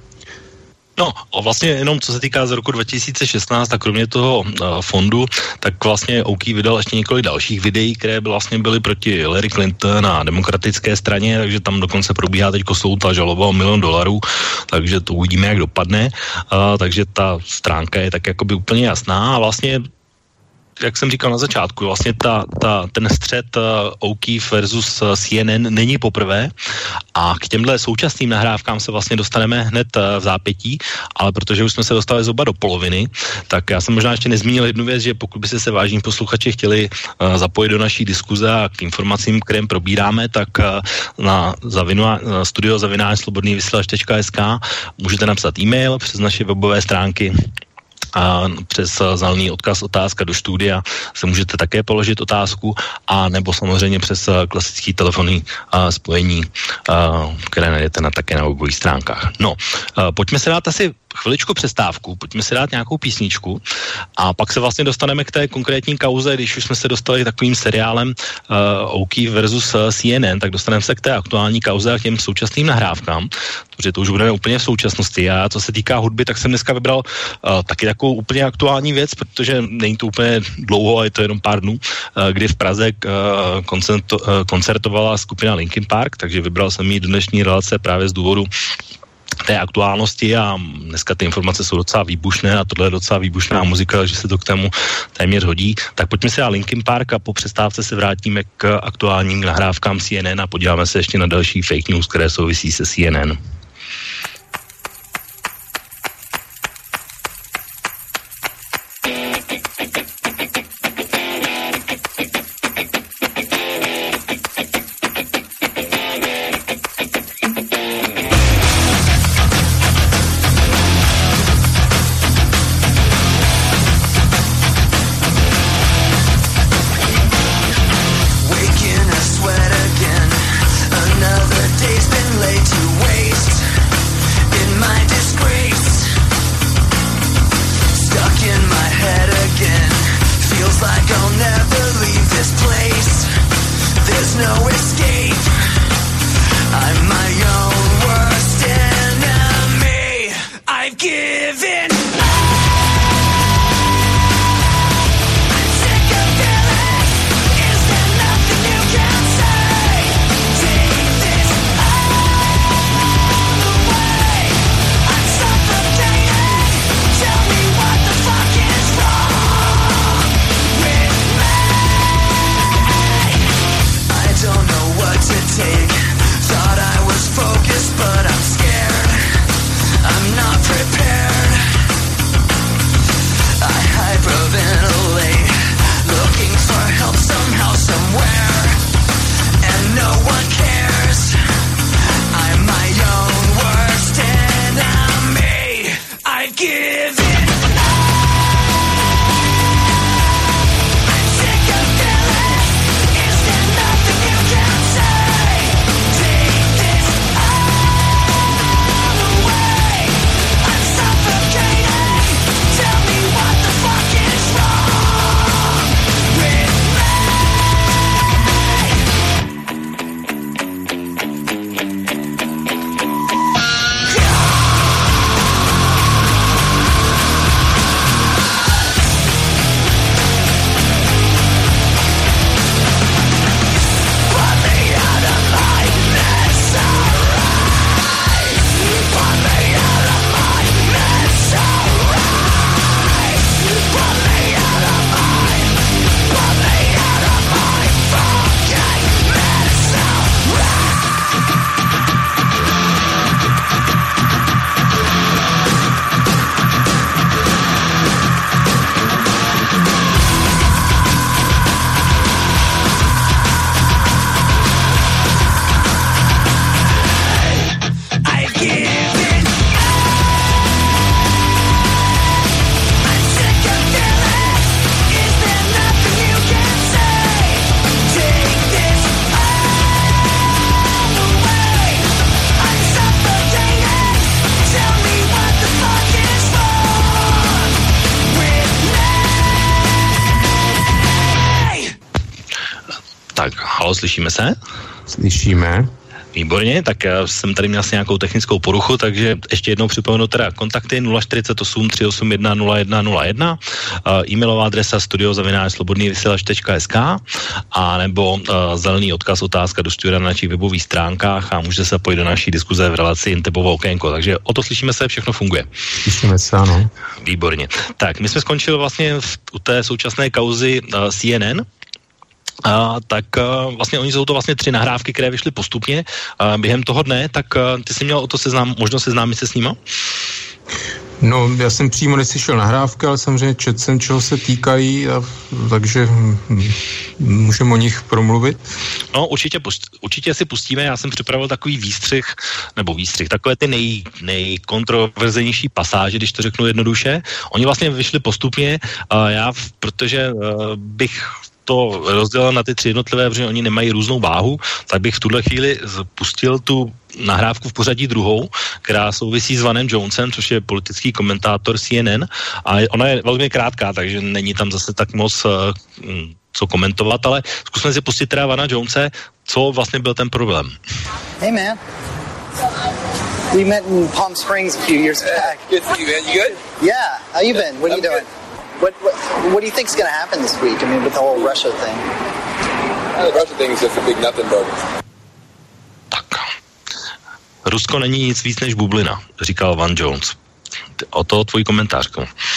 No, a vlastně jenom co se týká z roku dva tisíce šestnáct, tak kromě toho uh, fondu, tak vlastně O K vydal ještě několik dalších videí, které by vlastně byly proti Hillary Clinton a demokratické straně, takže tam dokonce probíhá teďko soud a žaloba o milion dolarů, takže to uvidíme, jak dopadne. Uh, takže ta stránka je tak jakoby úplně jasná a vlastně jak jsem říkal na začátku, vlastně ta, ta, ten střet uh, O'Keefe versus uh, C N N není poprvé a k těmhle současným nahrávkám se vlastně dostaneme hned uh, v zápětí, ale protože už jsme se dostali zhruba do poloviny, tak já jsem možná ještě nezmínil jednu věc, že pokud by se se vážní posluchači chtěli uh, zapojit do naší diskuze a k informacím, kterým probíráme, tak uh, na zavinu, uh, studio zavináč slobodný vysílač tečka es ká můžete napsat e-mail přes naše webové stránky a přes zelený odkaz otázka do studia se můžete také položit otázku a nebo samozřejmě přes klasický telefonní uh, spojení, uh, které najdete na, také na webových stránkách. No, uh, pojďme se dát asi chviličku přestávku, pojďme si dát nějakou písničku a pak se vlastně dostaneme k té konkrétní kauze, když už jsme se dostali k takovým seriálem uh, O'Keefe versus C N N, tak dostaneme se k té aktuální kauze a k těm současným nahrávkám, protože to už budeme úplně v současnosti. A co se týká hudby, tak jsem dneska vybral uh, taky takovou úplně aktuální věc, protože není to úplně dlouho, ale je to jenom pár dnů, uh, kdy v Praze uh, koncerto, uh, koncertovala skupina Linkin Park, takže vybral jsem ji do dnešní relace právě z důvodu té aktuálnosti a dneska ty informace jsou docela výbušné a tohle je docela výbušná muzika, že se to k tomu téměř hodí. Tak pojďme se na Linkin Park a po přestávce se vrátíme k aktuálním nahrávkám C N N a podíváme se ještě na další fake news, které souvisí se C N N. Waking a sweat again. Another day's been laid to waste. Halo, slyšíme se? Slyšíme. Výborně, tak já jsem tady měl asi nějakou technickou poruchu, takže ještě jednou připomenu teda kontakty nula čtyřicet osm tři osm jedna nula jedna nula jedna, uh, e-mailová adresa studio zavináč slobodný vysílač tečka es ká a nebo uh, zelený odkaz otázka do studia na našich webových stránkách a můžete se pojít do naší diskuze v relaci Intebovo okénko, takže o to slyšíme se, všechno funguje. Slyšíme se, ano. Výborně. Tak, my jsme skončili vlastně v, u té současné kauzy uh, C N N. Uh, tak uh, vlastně oni jsou to vlastně tři nahrávky, které vyšly postupně uh, během toho dne, tak uh, ty jsi měl o to seznám, možnost seznámit se s nima? No, já jsem přímo neslyšel nahrávky, ale samozřejmě četl jsem, čeho se týkají, a, takže hm, můžeme o nich promluvit. No, určitě, určitě si pustíme, já jsem připravil takový výstřih, nebo výstřih, takové ty nej, nejkontroverznější pasáže, když to řeknu jednoduše. Oni vlastně vyšli postupně, uh, já, protože uh, bych to rozdělil na ty tři jednotlivé, protože oni nemají různou váhu, tak bych v tuhle chvíli pustil tu nahrávku v pořadí druhou, která souvisí s Vanem Jonesem, což je politický komentátor C N N a ona je velmi krátká, takže není tam zase tak moc uh, co komentovat, ale zkusme si pustit teda Vana Jonese, co vlastně byl ten problém. Hey man, we met in Palm Springs a few years back. Good to see you, man. You good? Yeah, how you been? What are you I'm doing? good. What, what what do you think's going to happen this week? I mean, with the whole Russia thing. Uh, the Russia thing is just a big nothing burger. Tak. Rusko není nic víc než bublina, říkal Van Jones. O to tvůj komentář.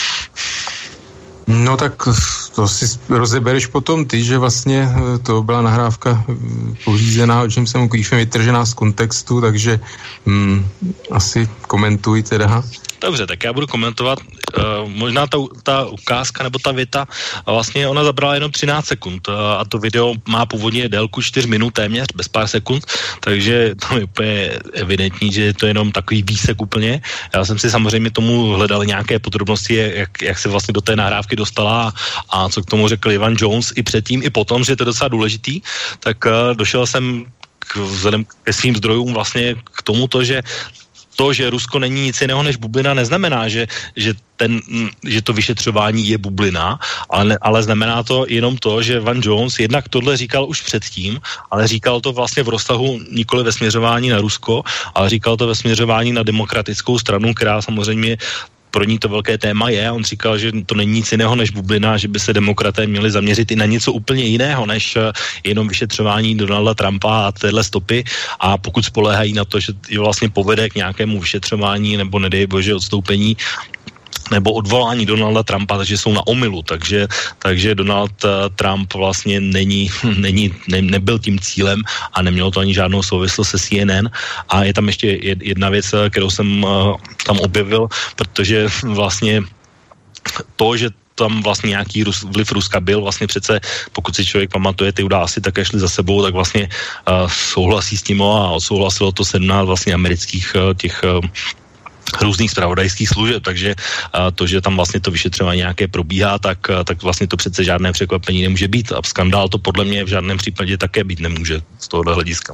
No tak to si rozebereš potom ty, že vlastně to byla nahrávka pořízená, o čem jsem Queefem vytržená z kontextu, takže hm, asi komentuj teda. Dobře, tak já budu komentovat. Uh, možná ta, ta ukázka nebo ta věta, vlastně ona zabrala jenom třináct sekund uh, a to video má původně délku čtyři minut téměř, bez pár sekund, takže to je úplně evidentní, že je to jenom takový výsek úplně. Já jsem si samozřejmě tomu hledal nějaké podrobnosti, jak, jak se vlastně do té nahrávky dostala a co k tomu řekl Ivan Jones i předtím, i potom, že je to docela důležitý, tak uh, došel jsem k, vzhledem ke svým zdrojům vlastně k tomuto, že to, že Rusko není nic jiného než bublina, neznamená, že, že, ten, že to vyšetřování je bublina, ale, ne, ale znamená to jenom to, že Van Jones jednak tohle říkal už předtím, ale říkal to vlastně v rozsahu nikoli ve směřování na Rusko, ale říkal to ve směřování na demokratickou stranu, která samozřejmě pro ní to velké téma je. On říkal, že to není nic jiného než bublina, že by se demokraté měli zaměřit i na něco úplně jiného, než jenom vyšetřování Donalda Trumpa a téhle stopy. A pokud spoléhají na to, že vlastně povede k nějakému vyšetřování nebo nedej bože odstoupení nebo odvolání Donalda Trumpa, takže jsou na omylu, takže, takže Donald Trump vlastně není, není ne, nebyl tím cílem a nemělo to ani žádnou souvislost se C N N. A je tam ještě jedna věc, kterou jsem tam objevil, protože vlastně to, že tam vlastně nějaký Rus, vliv Ruska byl, vlastně přece, pokud si člověk pamatuje, ty události také šly za sebou, tak vlastně uh, souhlasí s tím a odsouhlasilo to sedmnáct vlastně amerických uh, těch uh, různých zpravodajských služeb, takže uh, to, že tam vlastně to vyšetřování nějaké probíhá, tak, uh, tak vlastně to přece žádné překvapení nemůže být a skandál to podle mě v žádném případě také být nemůže z tohohle hlediska.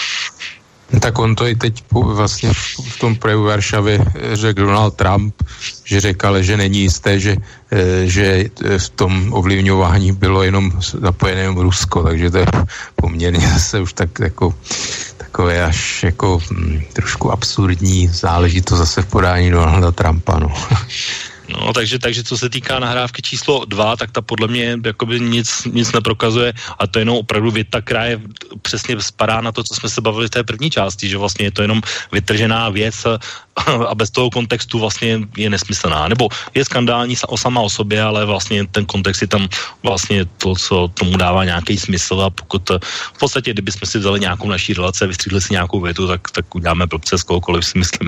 Tak on to i teď vlastně v tom projevu Varšavy řekl Donald Trump, že řekl, že není jisté, že, že v tom ovlivňování bylo jenom zapojené jenom Rusko, takže to je poměrně zase už tak jako takové až jako hm, trošku absurdní záležitost zase v podání Donalda Trumpa, no. No, takže, takže co se týká nahrávky číslo dva, tak ta podle mě jakoby nic, nic neprokazuje a to je jenom opravdu věta, která je přesně spadá na to, co jsme se bavili v té první části, že vlastně je to jenom vytržená věc a bez toho kontextu vlastně je nesmyslná. Nebo je skandální o sama o sobě, ale vlastně ten kontext je tam vlastně to, co tomu dává nějaký smysl a pokud v podstatě, kdybychom si vzali nějakou naší relaci a vystřídli si nějakou větu, tak, tak uděláme blbce z kohokoliv, si myslím.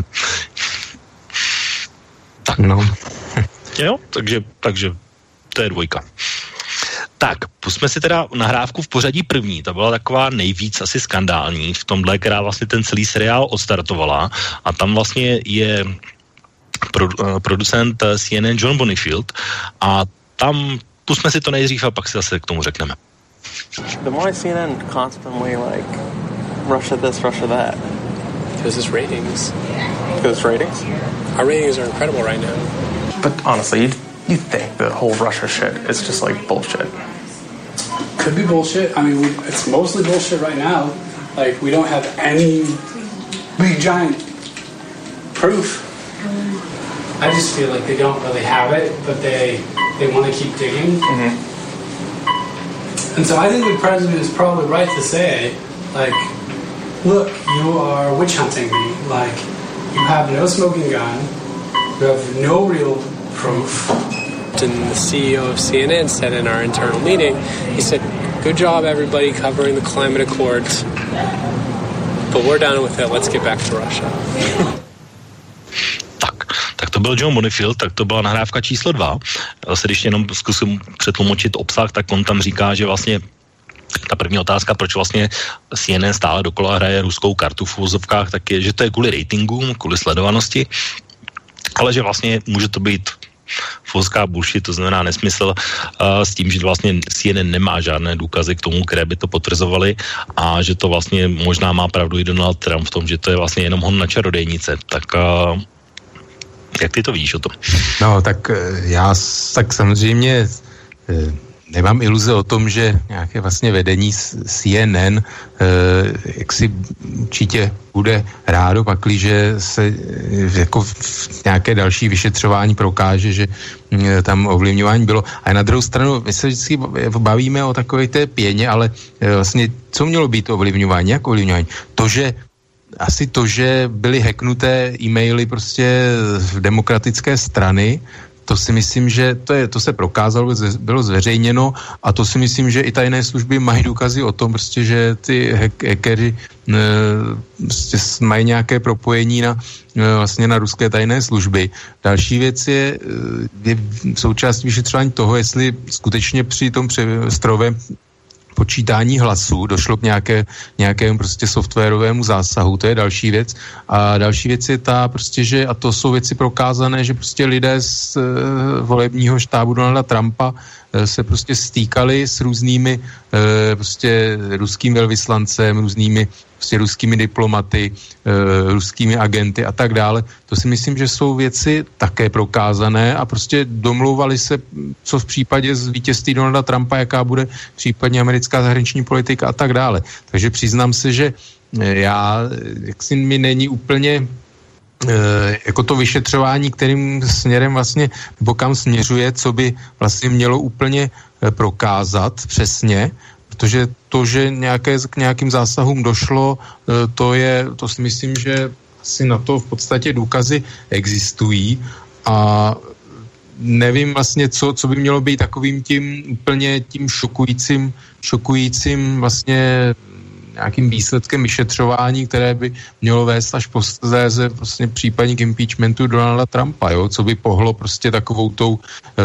Tak. No. Jo, takže, takže to je dvojka. Tak, pusme si teda nahrávku v pořadí první. Ta byla taková nejvíc asi skandální v tomhle, která vlastně ten celý seriál odstartovala a tam vlastně je pro, uh, producent C N N John Bonifield a tam pusme si to nejdřív a pak si zase k tomu řekneme. Then why is C N N constantly like Russia this, Russia that? Because it's ratings. Because it's ratings? Our ratings are incredible right now. But honestly, you, you think the whole Russia shit is just like bullshit. could be bullshit. I mean, we, it's mostly bullshit right now. Like, we don't have any big giant proof. I just feel like they don't really have it, but they they want to keep digging. Mm-hmm. And so I think the president is probably right to say, like, look, you are witch hunting me. Like, you have no smoking gun. You have no real proof. And the C E O of C N N said in our internal meeting, he said, good job everybody covering the climate accords, but we're done with it, let's get back to Russia. Tak, tak to byl John Bonifield, tak to byla nahrávka číslo dva. Zase když jenom zkusím přetlumočit obsah, tak on tam říká, že vlastně ta první otázka, proč vlastně C N N stále dokola hraje ruskou kartu v uvozovkách, tak je, že to je kvůli ratingům, kvůli sledovanosti, ale že vlastně může to být foská bullshit, to znamená nesmysl, uh, s tím, že vlastně C N N nemá žádné důkazy k tomu, které by to potvrzovaly a že to vlastně možná má pravdu i Donald Trump v tom, že to je vlastně jenom hon na čarodejnice. Tak uh, jak ty to vidíš o tom? No, tak já tak samozřejmě nemám iluze o tom, že nějaké vlastně vedení C N N jak si určitě bude rádo, pakliže se jako v nějaké další vyšetřování prokáže, že tam ovlivňování bylo. A na druhou stranu, my se vždycky bavíme o takové té pěně, ale vlastně co mělo být ovlivňování? Jak ovlivňování? To, že asi to, že byly hacknuté e-maily prostě v demokratické strany, to si myslím, že to, je, to se prokázalo, bylo zveřejněno a to si myslím, že i tajné služby mají důkazy o tom, prostě, že ty hackeři prostě mají nějaké propojení na, vlastně na ruské tajné služby. Další věc je, je součástí vyšetřování toho, jestli skutečně při tom strojovém počítání hlasů došlo k nějaké, nějakému prostě softwarovému zásahu, to je další věc. A další věc je ta prostě, že, a to jsou věci prokázané, že prostě lidé z e, volebního štábu Donalda Trumpa e, se prostě stýkali s různými e, prostě ruským velvyslancem, různými prostě ruskými diplomaty, e, ruskými agenty a tak dále. To si myslím, že jsou věci také prokázané a prostě domlouvali se, co v případě z vítězství Donalda Trumpa, jaká bude případně americká zahraniční politika a tak dále. Takže přiznám se, že já, jak si mi není úplně e, jako to vyšetřování, kterým směrem vlastně, nebo kam směřuje, co by vlastně mělo úplně prokázat přesně, protože to, že nějaké, k nějakým zásahům došlo, to je, to si myslím, že asi na to v podstatě důkazy existují a nevím vlastně, co, co by mělo být takovým tím úplně tím šokujícím, šokujícím vlastně nějakým výsledkem vyšetřování, které by mělo vést až posléze vlastně případně k impeachmentu Donalda Trumpa, jo? Co by pohlo prostě takovou tou e,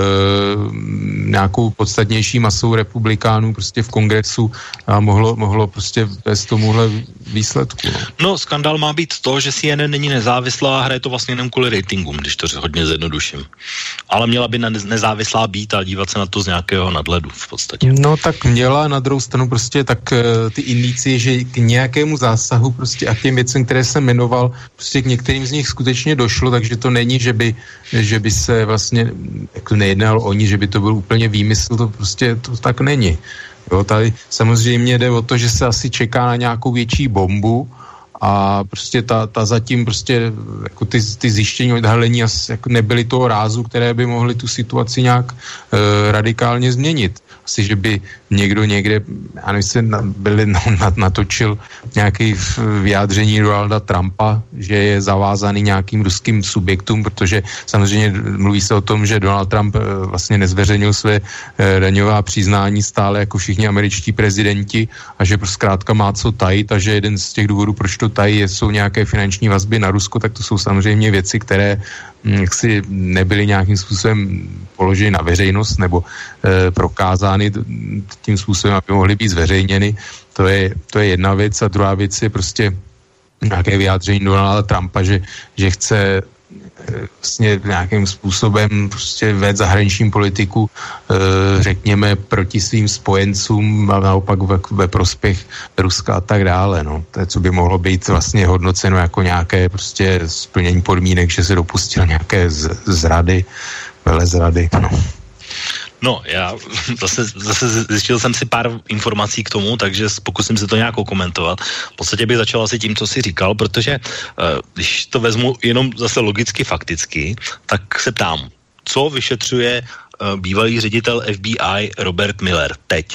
nějakou podstatnější masou republikánů prostě v kongresu a mohlo, mohlo prostě vést tomuhle výsledku. No. no, skandál má být to, že C N N není nezávislá a hraje to vlastně jenom kvůli ratingům, když to hodně zjednoduším. Ale měla by nezávislá být a dívat se na to z nějakého nadhledu v podstatě. No tak měla, na druhou stranu prostě tak ty indicie, že k nějakému zásahu prostě a k těm věcem, které jsem jmenoval, prostě k některým z nich skutečně došlo, takže to není, že by, že by se vlastně jako nejednalo o ní, že by to byl úplně výmysl, to prostě to tak není. Jo, tady samozřejmě jde o to, že se asi čeká na nějakou větší bombu a prostě ta, ta zatím prostě jako ty, ty zjištění odhalení jako nebyly toho rázu, které by mohly tu situaci nějak e, radikálně změnit. Asi, že by někdo někde, já nevím, se byli, no, natočil nějaké vyjádření Donalda Trumpa, že je zavázaný nějakým ruským subjektům, protože samozřejmě mluví se o tom, že Donald Trump vlastně nezveřejnil své daňová přiznání stále jako všichni američtí prezidenti a že zkrátka má co tajit a že jeden z těch důvodů, proč to tají, jsou nějaké finanční vazby na Rusko, tak to jsou samozřejmě věci, které jaksi nebyly nějakým způsobem položeny na veřejnost nebo e, prokázány tím způsobem, aby mohly být zveřejněny. To je, to je jedna věc a druhá věc je prostě nějaké vyjádření Donalda Trumpa, že, že chce vlastně nějakým způsobem prostě vést zahraniční politiku, e, řekněme, proti svým spojencům a naopak ve, ve prospěch Ruska a tak dále. No. To je, co by mohlo být vlastně hodnoceno jako nějaké prostě splnění podmínek, že se dopustil nějaké z, zrady, velezrady. No. No, já zase, zase zjistil jsem si pár informací k tomu, takže pokusím se to nějak komentovat. V podstatě bych začal asi tím, co jsi říkal, protože když to vezmu jenom zase logicky, fakticky, tak se ptám, co vyšetřuje bývalý ředitel F B I Robert Mueller teď?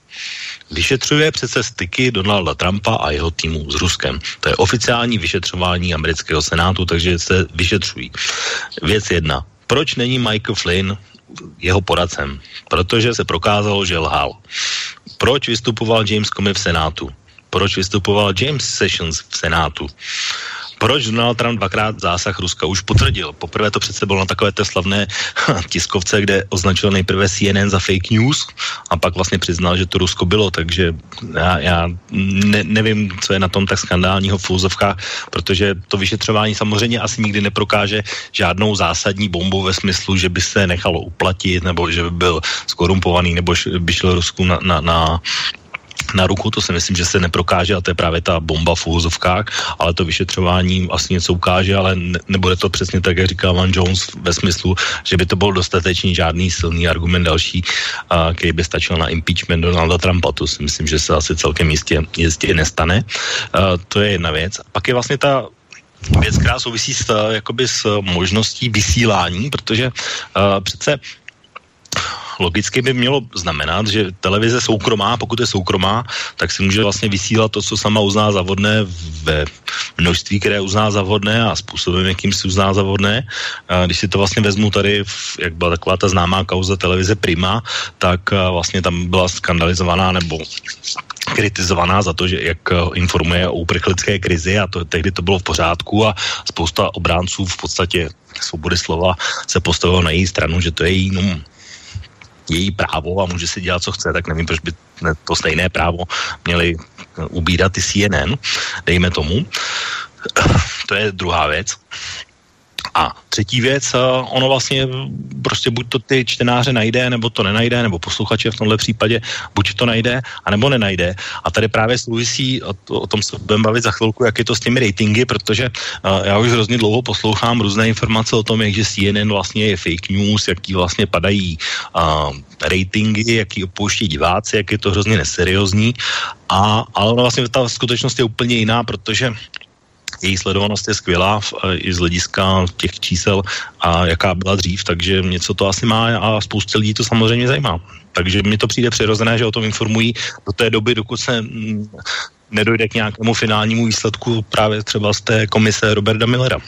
Vyšetřuje přece styky Donalda Trumpa a jeho týmu s Ruskem. To je oficiální vyšetřování amerického senátu, takže se vyšetřují. Věc jedna. Proč není Michael Flynn jeho poradcem? Protože se prokázalo, že lhal. Proč vystupoval James Comey v senátu? Proč vystupoval James Sessions v senátu? Proč Donald Trump dvakrát zásah Ruska už potvrdil? Poprvé to přece bylo na takové té slavné tiskovce, kde označil nejprve C N N za fake news a pak vlastně přiznal, že to Rusko bylo, takže já, já ne, nevím, co je na tom tak skandálního v úzovkách, protože to vyšetřování samozřejmě asi nikdy neprokáže žádnou zásadní bombu ve smyslu, že by se nechalo uplatit, nebo že by byl skorumpovaný, nebo by šel Rusku na, na, na na ruku, to si myslím, že se neprokáže a to je právě ta bomba v úvozovkách, ale to vyšetřování asi něco ukáže, ale ne, nebude to přesně tak, jak říkal Van Jones ve smyslu, že by to byl dostatečný žádný silný argument další, a, který by stačil na impeachment Donalda Trumpa. To si myslím, že se asi celkem jistě, jistě nestane. A, to je jedna věc. Pak je vlastně ta věc, která souvisí s, jakoby s možností vysílání, protože a, přece logicky by mělo znamenat, že televize soukromá, pokud je soukromá, tak si může vlastně vysílat to, co sama uzná za vhodné ve množství, které uzná za vhodné a způsobem, jakým si uzná za vhodné. A když si to vlastně vezmu tady, jak byla taková ta známá kauza televize Prima, tak vlastně tam byla skandalizovaná nebo kritizovaná za to, že jak informuje o uprchlické krizi a to, tehdy to bylo v pořádku a spousta obránců v podstatě svobody slova se postavilo na její stranu, že to je její no, její právo a může si dělat, co chce, tak nevím, proč by to stejné právo měli ubírat i C N N, dejme tomu. To je druhá věc. A třetí věc, ono vlastně prostě buď to ty čtenáře najde, nebo to nenajde, nebo posluchače v tomhle případě, buď to najde, anebo nenajde. A tady právě souvisí, o, o tom se budeme bavit za chvilku, jak je to s těmi ratingy, protože uh, já už hrozně dlouho poslouchám různé informace o tom, jak že C N N vlastně je fake news, jaký vlastně padají uh, ratingy, jaký opouští diváci, jak je to hrozně neseriózní. A, ale ono vlastně ta skutečnost je úplně jiná, protože její sledovanost je skvělá i z hlediska těch čísel a jaká byla dřív, takže něco to asi má a spoustě lidí to samozřejmě zajímá. Takže mně to přijde přirozené, že o tom informují do té doby, dokud se nedojde k nějakému finálnímu výsledku právě třeba z té komise Roberta Muellera.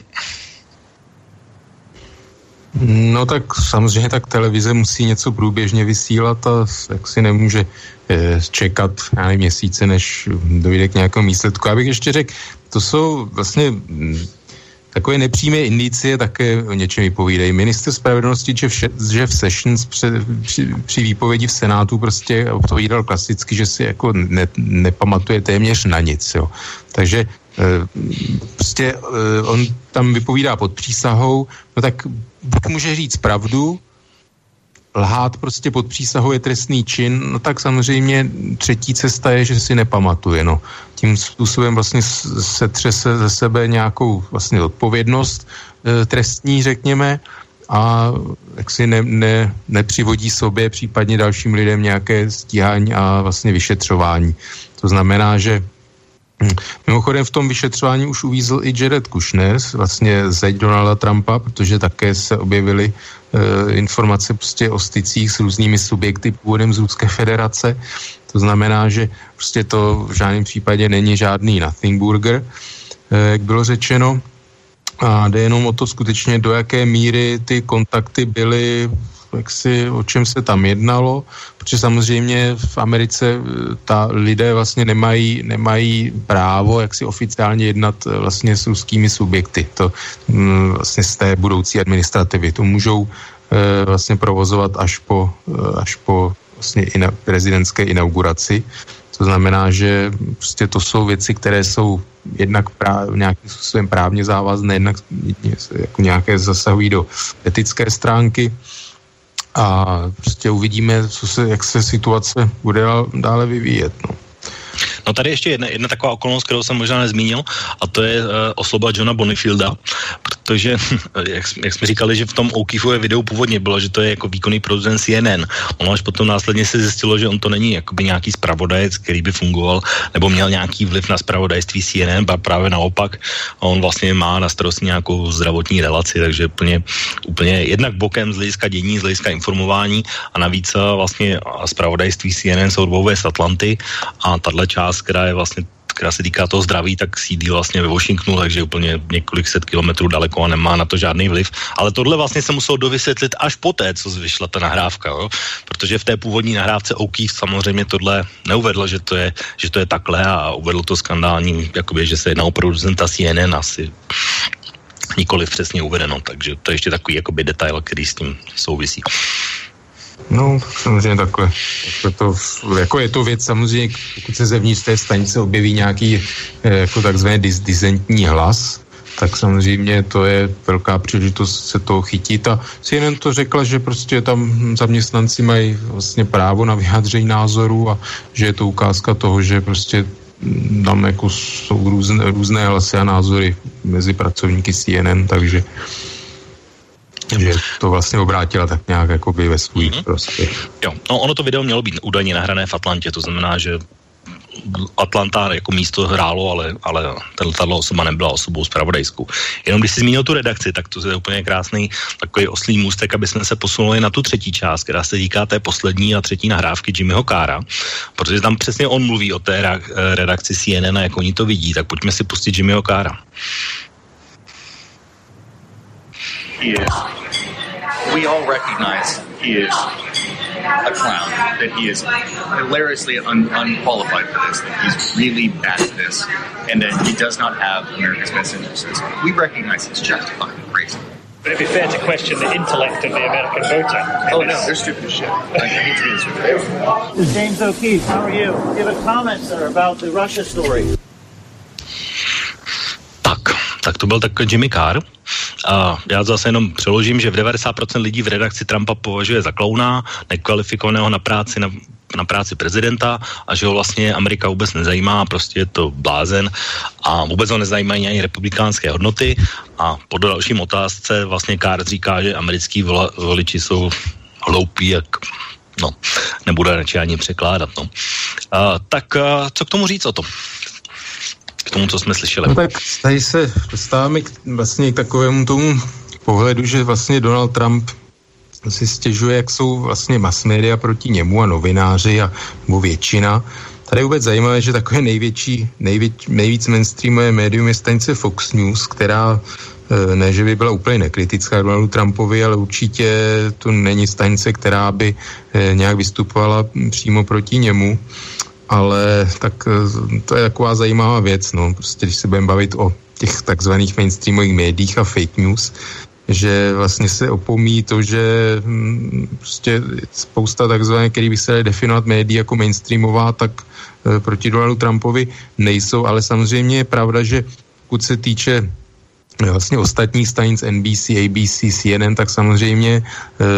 No tak samozřejmě tak televize musí něco průběžně vysílat a jak si nemůže eh, čekat já nevím, měsíce, než dojde k nějakému výsledku. Já bych ještě řekl, to jsou vlastně hm, takové nepřímé indicie také o něčem vypovídají. Ministr spravedlnosti Jeff Sessions při, při, při výpovědi v Senátu prostě odpovídal klasicky, že si jako ne, nepamatuje téměř na nic. Jo. Takže prostě on tam vypovídá pod přísahou, no tak buď může říct pravdu, lhát prostě pod přísahou je trestný čin, no tak samozřejmě třetí cesta je, že si nepamatuje, no. Tím způsobem vlastně setře se ze sebe nějakou vlastně odpovědnost e, trestní, řekněme, a jak si ne, ne, nepřivodí sobě případně dalším lidem nějaké stíhání a vlastně vyšetřování. To znamená, že mimochodem v tom vyšetřování už uvízl i Jared Kushner, vlastně zeď Donalda Trumpa, protože také se objevily e, informace prostě o stycích s různými subjekty původem z Ruské federace. To znamená, že prostě to v žádném případě není žádný nothing burger, e, jak bylo řečeno. A jde jenom o to skutečně, do jaké míry ty kontakty byly, jak si, o čem se tam jednalo, protože samozřejmě v Americe ta lidé vlastně nemají, nemají právo, jak si oficiálně jednat vlastně s ruskými subjekty, to vlastně z té budoucí administrativy. To můžou e, vlastně provozovat až po, až po vlastně ina, prezidentské inauguraci. To znamená, že prostě to jsou věci, které jsou jednak práv, nějakým způsobem právně závazné, jednak jako nějaké zasahují do etické stránky. A prostě uvidíme, co se, jak se situace bude dále vyvíjet. No. No tady ještě jedna, jedna taková okolnost, kterou jsem možná nezmínil, a to je uh, osoba Johna Bonifielda, to, že, jak, jak jsme říkali, že v tom O'Keefeově videu původně bylo, že to je jako výkonný producent C N N. Ono až potom následně se zjistilo, že on to není jakoby nějaký zpravodajec, který by fungoval, nebo měl nějaký vliv na zpravodajství C N N, a právě naopak. A on vlastně má na starosti nějakou zdravotní relaci, takže úplně, úplně jednak bokem z hlediska dění, z hlediska informování a navíc vlastně zpravodajství C N N jsou dvou z Atlanty a tahle část, která je vlastně která se týká toho zdraví, tak sídlí vlastně ve Washingtonu, takže úplně několik set kilometrů daleko a nemá na to žádný vliv. Ale tohle vlastně se muselo dovysvětlit až poté, co vyšla ta nahrávka, jo? Protože v té původní nahrávce O'Keefe samozřejmě tohle neuvedl, že to je, že to je takhle a uvedl to skandální, jakoby, že se jedná o producenta C N N asi nikoliv přesně uvedeno, takže to je ještě takový jakoby detail, který s tím souvisí. No, samozřejmě takhle. takhle to, jako je to věc samozřejmě, pokud se zevnitř té stanice objeví nějaký jako takzvaný dis, disentní hlas, tak samozřejmě to je velká příležitost se toho chytit a C N N to řekla, že prostě tam zaměstnanci mají vlastně právo na vyjádření názoru a že je to ukázka toho, že prostě tam jako jsou různé, různé hlasy a názory mezi pracovníky C N N, takže že to vlastně obrátila tak nějak jakoby ve svůj mm-hmm. prospěch. Jo, no ono to video mělo být údajně nahrané v Atlantě, to znamená, že Atlanta jako místo hrálo, ale, ale tato osoba nebyla osobou zpravodajskou. Jenom když jsi zmínil tu redakci, tak to je úplně krásný takový oslý můstek, aby jsme se posunuli na tu třetí část, která se týká té poslední a třetí nahrávky Jimmyho Carra, protože tam přesně on mluví o té redakci C N N a jak oni to vidí, tak pojďme si pustit Jimmyho Carra. He is, we all recognize he is a clown, that he is hilariously un- unqualified for this, that he's really bad at this, and that he does not have America's best interests. We recognize he's just fucking crazy. But it'd be fair to question the intellect of the American voter. Oh no, they're stupid as shit. Like, I hate to be this way. James O'Keefe, how are you? Give a comment, sir, about the Russia story. Tak, tak to byl tak Jimmy Carr. A já zase jenom přeložím, že v devadesát procent lidí v redakci Trumpa považuje za klauna, nekvalifikovaného na práci na, na práci prezidenta a že ho vlastně Amerika vůbec nezajímá, prostě je to blázen a vůbec ho nezajímají ani republikánské hodnoty a po dalším otázce vlastně Carr říká, že americký voliči jsou hloupí, jak no, nebude radši ani překládat, no. A, tak a, co k tomu říct o tom? K tomu, co jsme slyšeli. No tak tady se dostáváme k, vlastně k takovému tomu pohledu, že vlastně Donald Trump si stěžuje, jak jsou vlastně mass media proti němu a novináři a nebo většina. Tady je vůbec zajímavé, že takové největší, největ, nejvíc mainstreamové médium je stanice Fox News, která ne, že by byla úplně nekritická Donaldu Trumpovi, ale určitě to není stanice, která by nějak vystupovala přímo proti němu. Ale tak to je taková zajímavá věc, no, prostě když se budeme bavit o těch takzvaných mainstreamových médiích a fake news, že vlastně se opomíjí to, že hm, prostě spousta takzvaných, který by se dali definovat médií jako mainstreamová, tak e, proti Donaldu Trumpovi nejsou, ale samozřejmě je pravda, že pokud se týče vlastně ostatních stanic N B C, A B C, C N N, tak samozřejmě e,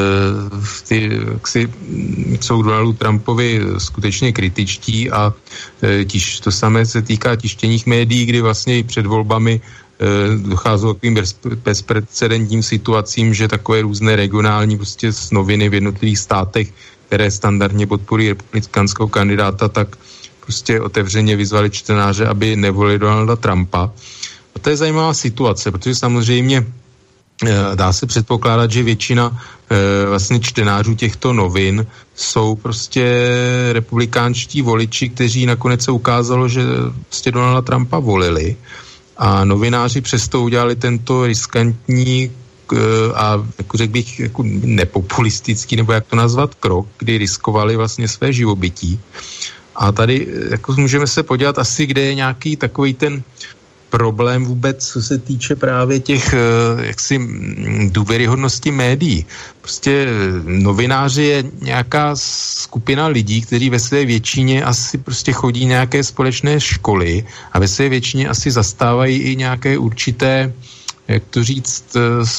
ty, si, jsou Donaldu Trumpovi skutečně kritičtí a e, tiž, to samé se týká tištěných médií, kdy vlastně i před volbami e, docházelo k takovým bez, bezprecedentním situacím, že takové různé regionální prostě noviny v jednotlivých státech, které standardně podporují republikánského kandidáta, tak prostě otevřeně vyzvali čtenáře, aby nevolili Donalda Trumpa. A to je zajímavá situace, protože samozřejmě dá se předpokládat, že většina vlastně čtenářů těchto novin jsou prostě republikánští voliči, kteří nakonec se ukázalo, že prostě Donalda Trumpa volili a novináři přesto udělali tento riskantní a jako řekl bych jako nepopulistický, nebo jak to nazvat, krok, kdy riskovali vlastně své živobytí. A tady jako můžeme se podívat asi, kde je nějaký takový ten problém vůbec, co se týče právě těch jaksi důvěryhodnosti médií. Prostě novináři je nějaká skupina lidí, kteří ve své většině asi prostě chodí nějaké společné školy a ve své většině asi zastávají i nějaké určité, jak to říct,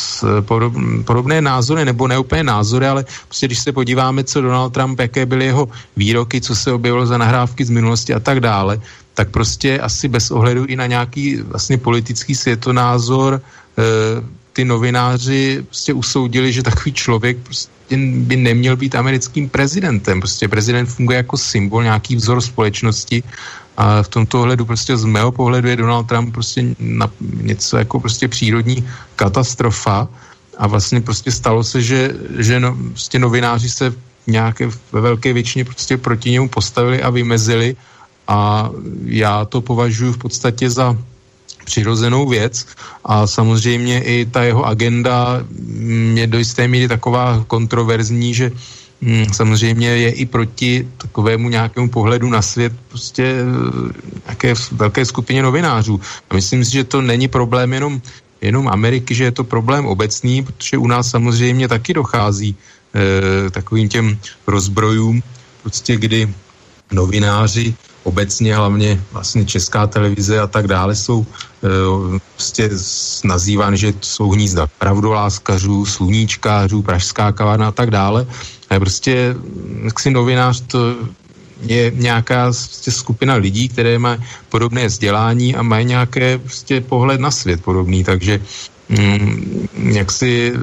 podobné názory, nebo ne úplně názory, ale prostě když se podíváme, co Donald Trump, jaké byly jeho výroky, co se objevilo za nahrávky z minulosti a tak dále, tak prostě asi bez ohledu i na nějaký vlastně politický světonázor e, ty novináři prostě usoudili, že takový člověk prostě by neměl být americkým prezidentem. Prostě prezident funguje jako symbol, nějaký vzor společnosti a v tomto ohledu prostě z mého pohledu je Donald Trump prostě na něco jako prostě přírodní katastrofa a vlastně prostě stalo se, že, že no, prostě novináři se nějaké ve velké většině prostě proti němu postavili a vymezili a já to považuji v podstatě za přirozenou věc a samozřejmě i ta jeho agenda je do jisté míry taková kontroverzní, že hm, samozřejmě je i proti takovému nějakému pohledu na svět prostě nějaké velké skupině novinářů. A myslím si, že to není problém jenom, jenom Ameriky, že je to problém obecný, protože u nás samozřejmě taky dochází eh, takovým těm rozbrojům, prostě kdy novináři obecně, hlavně vlastně Česká televize a tak dále jsou e, prostě nazývány, že jsou hnízda pravdoláskařů, sluníčkářů, pražská kavárna a tak dále. A prostě jaksi novinář to je nějaká prostě skupina lidí, které mají podobné vzdělání a mají nějaké prostě pohled na svět podobný, takže mm, jaksi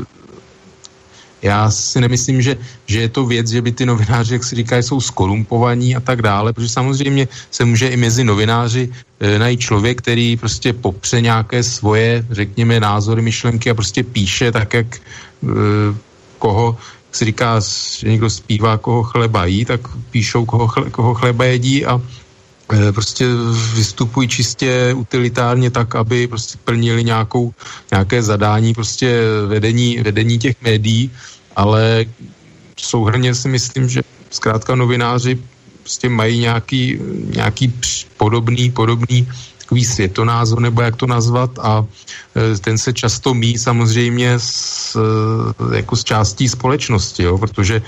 já si nemyslím, že, že je to věc, že by ty novináři, jak se říká, jsou skorumpovaní a tak dále, protože samozřejmě se může i mezi novináři e, najít člověk, který prostě popře nějaké svoje, řekněme, názory, myšlenky a prostě píše tak, jak e, koho, jak se říká, že někdo zpívá, koho chleba jí, tak píšou, koho, chle, koho chleba jedí a e, prostě vystupují čistě utilitárně tak, aby prostě plnili nějakou, nějaké zadání prostě vedení, vedení těch médií, ale souhrnně si myslím, že zkrátka novináři prostě mají nějaký, nějaký podobný, podobný takový světonázor, nebo jak to nazvat, a ten se často míjí samozřejmě s, jako s částí společnosti, jo, protože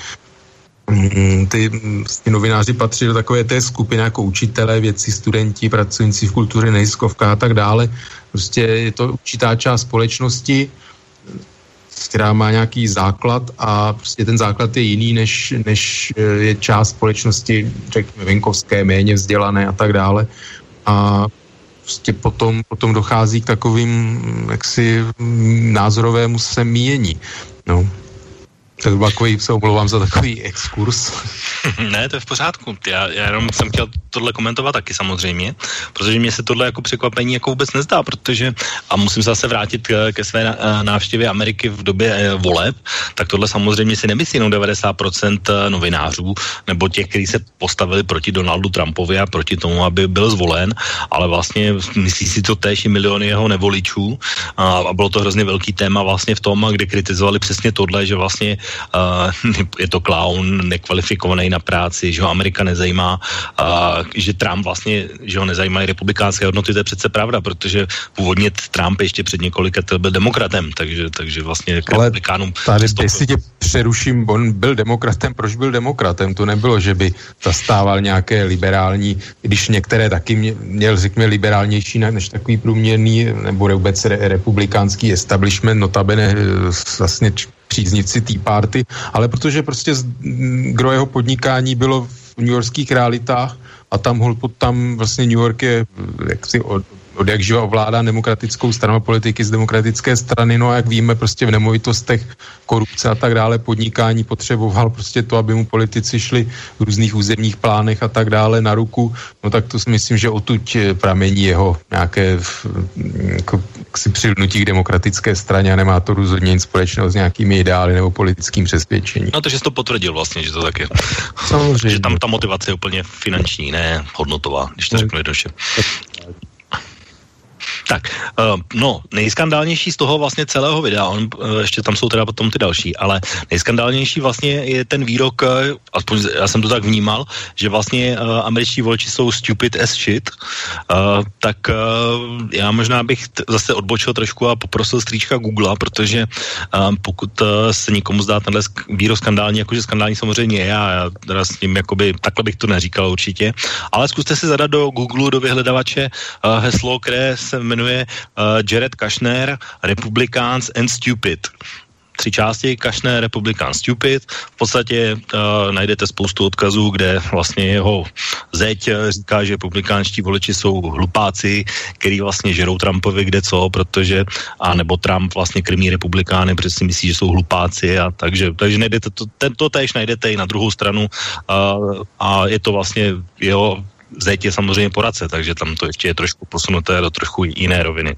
ty, ty novináři patří do takové té skupiny jako učitelé, vědci, studenti, pracující v kultuře, neziskovka a tak dále. Prostě je to určitá část společnosti, která má nějaký základ a prostě ten základ je jiný, než, než je část společnosti, řekněme, venkovské, méně vzdělané a tak dále. A prostě potom, potom dochází k takovým jaksi názorovému semíjení. No. Tak takový, se omlouvám za takový exkurs. Ne, to je v pořádku. Já, já jenom jsem chtěl tohle komentovat taky samozřejmě, protože mě se tohle jako překvapení jako vůbec nezdá, protože, a musím se zase vrátit ke, ke své návštěvě Ameriky v době voleb, tak tohle samozřejmě si nemyslí jenom devadesát procent novinářů, nebo těch, kteří se postavili proti Donaldu Trumpovi a proti tomu, aby byl zvolen, ale vlastně myslí si to též i miliony jeho nevoličů a, a bylo to hrozně velký téma vlastně v tom, kde kritizovali přesně tohle, že vlastně Uh, je to klaun, nekvalifikovaný na práci, že ho Amerika nezajímá, uh, že Trump vlastně, že ho nezajímají republikánské hodnoty, to je přece pravda, protože původně Trump ještě před několika let byl demokratem, takže, takže vlastně k republikánům... Ale tady, jestli tě přeruším, on byl demokratem, proč byl demokratem? To nebylo, že by zastával nějaké liberální, když některé taky mě, měl, řekněme, liberálnější než takový průměrný, nebo vůbec re, republikánský establishment, notabene vlastně příznivci Tea Party, ale protože prostě gro jeho podnikání bylo v newyorských realitách a tam, tam vlastně New York je jaksi od, od jak živa ovládá demokratickou stranu politiky z demokratické strany, no a jak víme, prostě v nemovitostech korupce a tak dále, podnikání potřeboval prostě to, aby mu politici šli v různých územních plánech a tak dále na ruku, no tak to si myslím, že odtud pramení jeho nějaké jako, si přilnutí k demokratické straně a nemá to rozhodně nic společného s nějakými ideály nebo politickým přesvědčením. No to, že jsi to potvrdil vlastně, že to tak je. Samozřejmě. Že tam ta motivace je úplně finanční, ne hodnotová, když to řeknu jednoduše. Tak, uh, no, nejskandálnější z toho vlastně celého videa, on, uh, ještě tam jsou teda potom ty další, ale nejskandálnější vlastně je ten výrok, uh, aspoň já jsem to tak vnímal, že vlastně uh, američtí voliči jsou stupid as shit, uh, tak uh, já možná bych t- zase odbočil trošku a poprosil strýčka Googlea, protože uh, pokud uh, se někomu zdá tenhle sk- výrok skandální, jakože skandální samozřejmě je, a já teda s ním jakoby, takhle bych to neříkal určitě, ale zkuste si zadat do Google, do vyhledavače uh, heslo, které se jmenuje uh, Jared Kushner, Republicans and Stupid. tři části, Kushner, Republican, Stupid. V podstatě uh, najdete spoustu odkazů, kde vlastně jeho zeď říká, že republikánští voliči jsou hlupáci, který vlastně žerou Trumpovi kde co, protože, a nebo Trump vlastně krmí republikány, protože si myslí, že jsou hlupáci a takže, takže najdete to, tento též najdete i na druhou stranu uh, a je to vlastně jeho zeď je samozřejmě poradce, takže tam to ještě je trošku posunuté do trošku jiné roviny.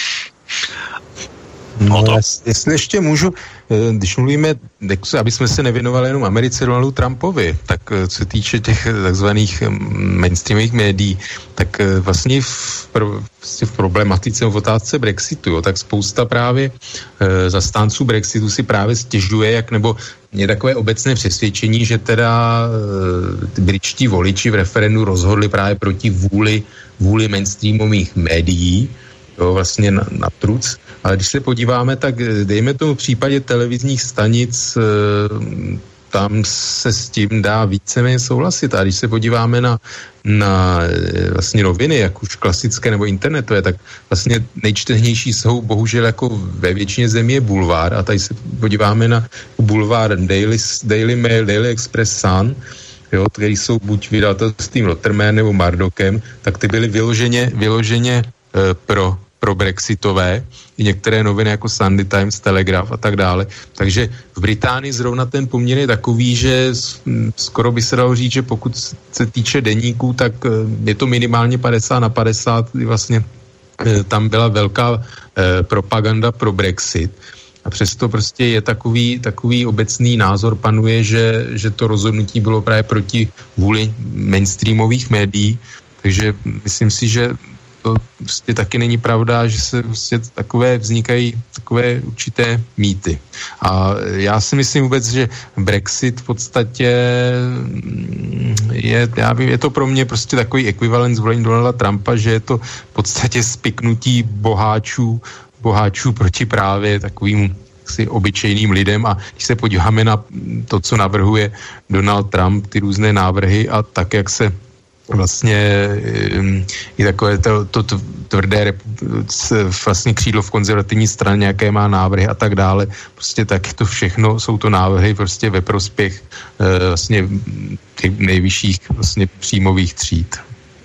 No, jestli ještě můžu, když mluvíme, aby jsme se nevěnovali jenom Americe, Donaldu Trumpovi, tak co se týče těch takzvaných mainstreamových médií, tak vlastně v, v problematice v otázce Brexitu, jo, tak spousta právě e, zastánců Brexitu si právě stěžuje, jak nebo je takové obecné přesvědčení, že teda e, britští voliči v referendu rozhodli právě proti vůli, vůli mainstreamových médií, jo, vlastně na, na truc. Ale když se podíváme, tak dejme tomu v případě televizních stanic, tam se s tím dá víceméně souhlasit. A když se podíváme na, na vlastně noviny, jak už klasické nebo internetové, tak vlastně nejčtenější jsou bohužel jako ve většině zemí je bulvár. A tady se podíváme na bulvár Daily, Daily Mail, Daily Express, Sun, jo, který jsou buď vydavatelstvím Letterman nebo Murdochem, tak ty byly vyloženě, vyloženě e, pro pro brexitové, i některé noviny jako Sunday Times, Telegraph a tak dále. Takže v Británii zrovna ten poměr je takový, že skoro by se dalo říct, že pokud se týče deníků, tak je to minimálně padesát na padesát, kdy vlastně tam byla velká eh, propaganda pro Brexit. A přesto prostě je takový, takový obecný názor panuje, že, že to rozhodnutí bylo právě proti vůli mainstreamových médií. Takže myslím si, že to prostě taky není pravda, že se prostě takové vznikají takové určité mýty. A já si myslím vůbec, že Brexit v podstatě je, já vím, je to pro mě prostě takový ekvivalent zvolení Donalda Trumpa, že je to v podstatě spiknutí boháčů, boháčů proti právě takovým si obyčejným lidem. A když se podíváme na to, co navrhuje Donald Trump, ty různé návrhy a tak, jak se vlastně i takové to, to tvrdé vlastně křídlo v konzervativní straně, jaké má návrhy a tak dále. Prostě tak to všechno, jsou to návrhy prostě ve prospěch vlastně těch nejvyšších vlastně příjmových tříd.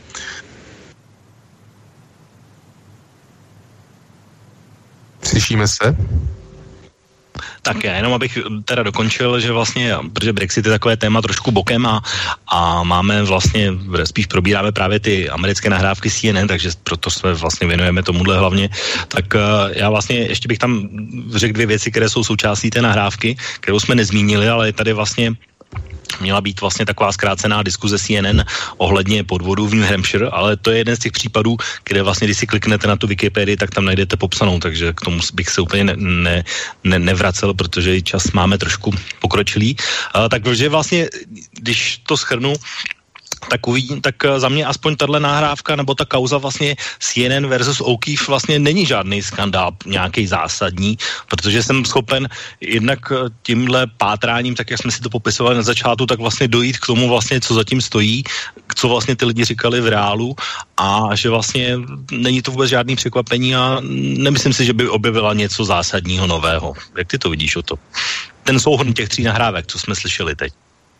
Slyšíme se? Tak já jenom abych teda dokončil, že vlastně, protože Brexit je takové téma trošku bokem a, a máme vlastně, spíš probíráme právě ty americké nahrávky C N N, takže proto se vlastně věnujeme tomuhle hlavně, tak já vlastně ještě bych tam řekl dvě věci, které jsou součástí té nahrávky, kterou jsme nezmínili, ale je tady vlastně měla být vlastně taková zkrácená diskuze C N N ohledně podvodů v New Hampshire, ale to je jeden z těch případů, kde vlastně, když si kliknete na tu Wikipedii, tak tam najdete popsanou, takže k tomu bych se úplně ne, ne, ne, nevracel, protože čas máme trošku pokročilý. Uh, takže vlastně, když to shrnu, tak, uvidím, tak za mě aspoň tahle nahrávka nebo ta kauza vlastně C N N versus O'Keefe vlastně není žádný skandál nějaký zásadní, protože jsem schopen jednak tímhle pátráním, tak jak jsme si to popisovali na začátku, tak vlastně dojít k tomu vlastně, co zatím stojí, co vlastně ty lidi říkali v reálu a že vlastně není to vůbec žádný překvapení a nemyslím si, že by objevila něco zásadního nového. Jak ty to vidíš o to? Ten souhrn těch tří nahrávek, co jsme slyšeli teď.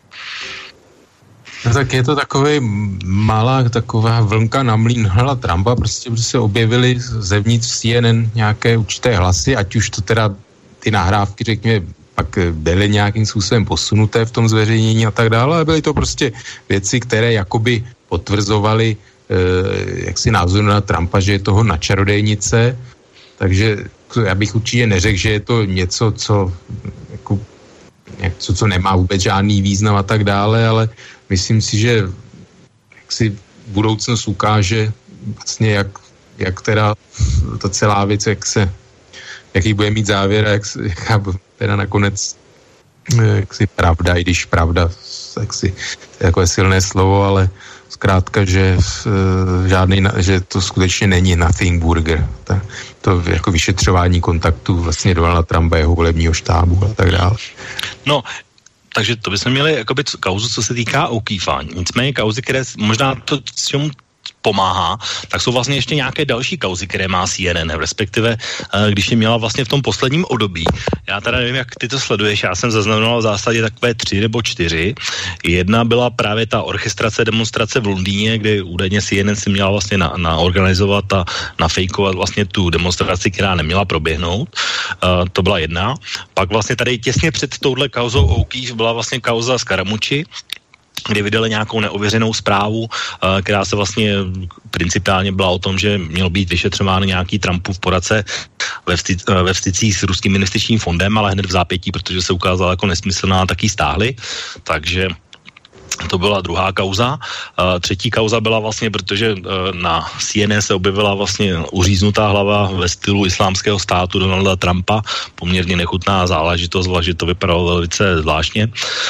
No tak je to takový malá taková vlnka na mlýn hlava Trumpa, prostě se objevily zevnitř C N N nějaké určité hlasy, ať už to teda ty nahrávky, řekněme, pak byly nějakým způsobem posunuté v tom zveřejnění a tak dále, ale byly to prostě věci, které jakoby potvrzovaly eh, jaksi názor na Trumpa, že je toho na čarodejnice, takže já bych určitě neřekl, že je to něco, co jako, něco, co nemá vůbec žádný význam a tak dále, ale myslím si, že jak si budoucnost ukáže vlastně, jak, jak teda ta celá věc, jak se, jaký bude mít závěr a jak, jaká teda nakonec jak si pravda, i když pravda, jak si, jako je silné slovo, ale zkrátka, že žádný, že to skutečně není nothing burger. Ta, to jako vyšetřování kontaktů vlastně Donalda Trumpa, jeho volebního štábu a tak dále. No, takže to bychom měli jakoby kauzu, co se týká O'Keefe. Nicméně kauzy, které možná to, čemu pomáhá, tak jsou vlastně ještě nějaké další kauzy, které má C N N, respektive když je měla vlastně v tom posledním období. Já teda nevím, jak ty to sleduješ, já jsem zaznamenal v zásadě takové tři nebo čtyři. Jedna byla právě ta orchestrace demonstrace v Londýně, kde údajně C N N si měla vlastně na, naorganizovat a nafejkovat vlastně tu demonstraci, která neměla proběhnout. Uh, to byla jedna. Pak vlastně tady těsně před touhle kauzou O'Keefe byla vlastně kauza Scaramucci, kdy vydali nějakou neověřenou zprávu, která se vlastně principiálně byla o tom, že měl být vyšetřován nějaký Trumpův poradce ve, vsty, ve vstycích s ruským investičním fondem, ale hned v zápětí, protože se ukázala jako nesmyslná, tak ji stáhli. Takže to byla druhá kauza. Uh, třetí kauza byla vlastně, protože uh, na C N N se objevila vlastně uříznutá hlava ve stylu islámského státu Donalda Trumpa. Poměrně nechutná záležitost, že to vypadalo velice zvláštně.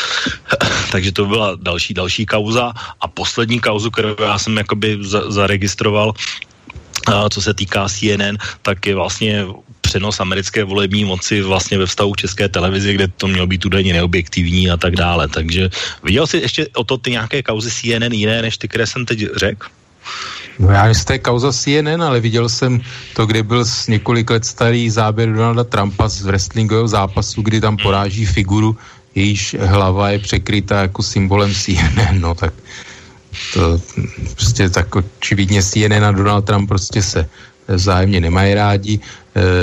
Takže to byla další, další kauza. A poslední kauzu, kterou já jsem jakoby za, zaregistroval, uh, co se týká C N N, tak je vlastně přenos americké volební moci vlastně ve vztahu k České televizi, kde to mělo být údajně neobjektivní a tak dále. Takže viděl jsi ještě o to ty nějaké kauzy C N N jiné, než ty, které jsem teď řekl? No já z té kauza C N N, ale viděl jsem to, kde byl z několik let starý záběr Donalda Trumpa z wrestlingového zápasu, kdy tam poráží figuru, jejíž hlava je překrytá jako symbolem C N N, no tak to prostě tak očividně C N N a Donald Trump prostě se vzájemně nemají rádi e,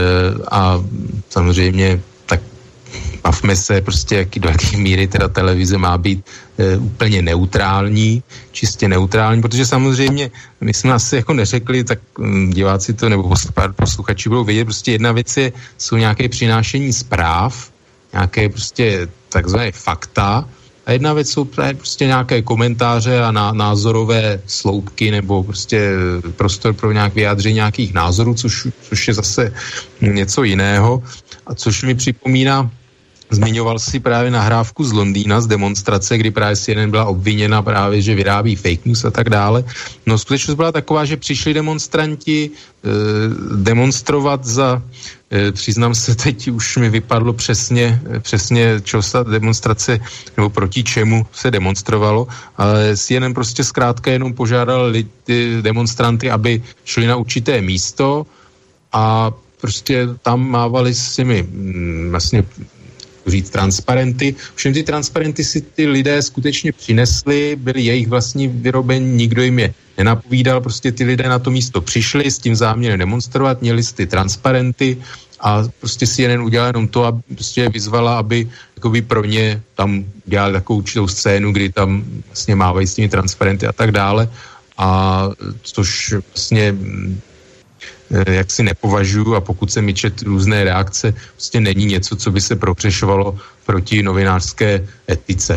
a samozřejmě tak bavme se prostě, jaký, do jaké míry teda televize má být e, úplně neutrální, čistě neutrální, protože samozřejmě my jsme asi jako neřekli, tak m, diváci to nebo posluchači budou vědět, prostě jedna věc je, jsou nějaké přinášení zpráv, nějaké prostě takzvané fakta, a jedna věc jsou prostě nějaké komentáře a ná, názorové sloupky nebo prostě prostor pro nějak vyjádření nějakých názorů, což, což je zase něco jiného. A což mi připomíná, zmiňoval si právě nahrávku z Londýna, z demonstrace, kdy právě C N N byla obviněna právě, že vyrábí fake news a tak dále. No skutečnost byla taková, že přišli demonstranti eh, demonstrovat za, eh, přiznám se, teď už mi vypadlo přesně, přesně čo se demonstrace, nebo proti čemu se demonstrovalo, ale C N N prostě zkrátka jenom požádal lidi, demonstranty, aby šli na určité místo a prostě tam mávali s těmi mm, vlastně říct transparenty. Všem ty transparenty si ty lidé skutečně přinesli, byly jejich vlastní vyrobení, nikdo jim je nenapovídal, prostě ty lidé na to místo přišli s tím záměrem demonstrovat, měli ty transparenty a prostě C N N udělala jenom to, aby prostě vyzvala, aby jakoby pro ně tam dělali takovou určitou scénu, kdy tam vlastně mávají s těmi transparenty a tak dále. A což vlastně jak si nepovažuji a pokud se mi čet různé reakce, prostě není něco, co by se propřešovalo proti novinářské etice.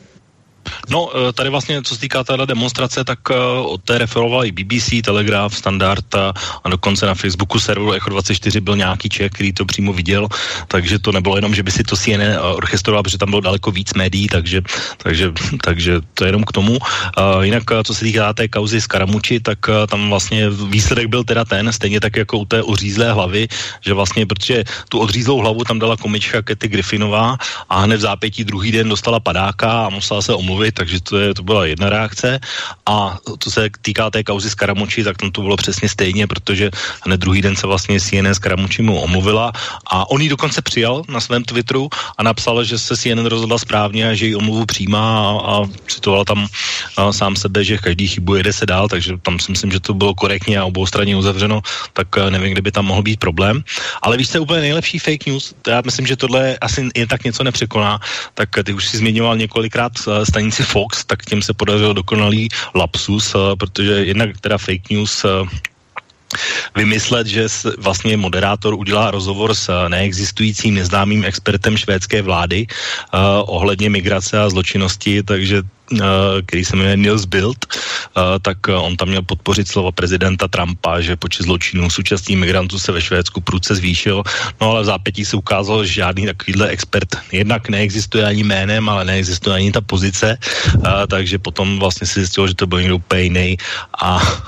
No, tady vlastně, co se týká téhle demonstrace, tak od té referoval i B B C, Telegraph, Standard a, a dokonce na Facebooku serveru Echo dvacet čtyři byl nějaký Čech, který to přímo viděl, takže to nebylo jenom, že by si to C N N orchestroval, protože tam bylo daleko víc médií, takže, takže, takže to je jenom k tomu. Uh, jinak, co se týká té kauzy Scaramucci, tak uh, tam vlastně výsledek byl teda ten, stejně tak jako u té odřízlé hlavy, že vlastně, protože tu odřízlou hlavu tam dala komička Kathy Griffinová a hned v zápětí druhý den dostala padáka a musela se omluvit, takže to, je, to byla jedna reakce. A co se týká té kauzy Scaramucci, tak tam to bylo přesně stejně, protože hned druhý den se vlastně C N N Scaramucci mu omluvila a on ji dokonce přijal na svém Twitteru a napsal, že se C N N rozhodla správně a že ji omluvu přijímá a, a citoval tam a, sám sebe, že každý chybu jede se dál, takže tam si myslím, že to bylo korektně a obou straně uzavřeno, tak nevím, kde by tam mohl být problém. Ale víš, co je úplně nejlepší fake news? Já myslím, že tohle asi jen tak něco nepřekoná, tak ty už si zmiňoval několikrát stanici Fox, tak tím se podařil dokonalý lapsus, protože jednak teda fake news vymyslet, že vlastně moderátor udělá rozhovor s neexistujícím neznámým expertem švédské vlády uh, ohledně migrace a zločinnosti, takže který se jmenuje Nils Bild, tak on tam měl podpořit slova prezidenta Trumpa, že počet zločinů současných migrantů se ve Švédsku prudce zvýšil, no ale v zápětí se ukázalo, že žádný takovýhle expert jednak neexistuje ani jménem, ale neexistuje ani ta pozice, takže potom vlastně si zjistilo, že to byl někdo úplně jiný a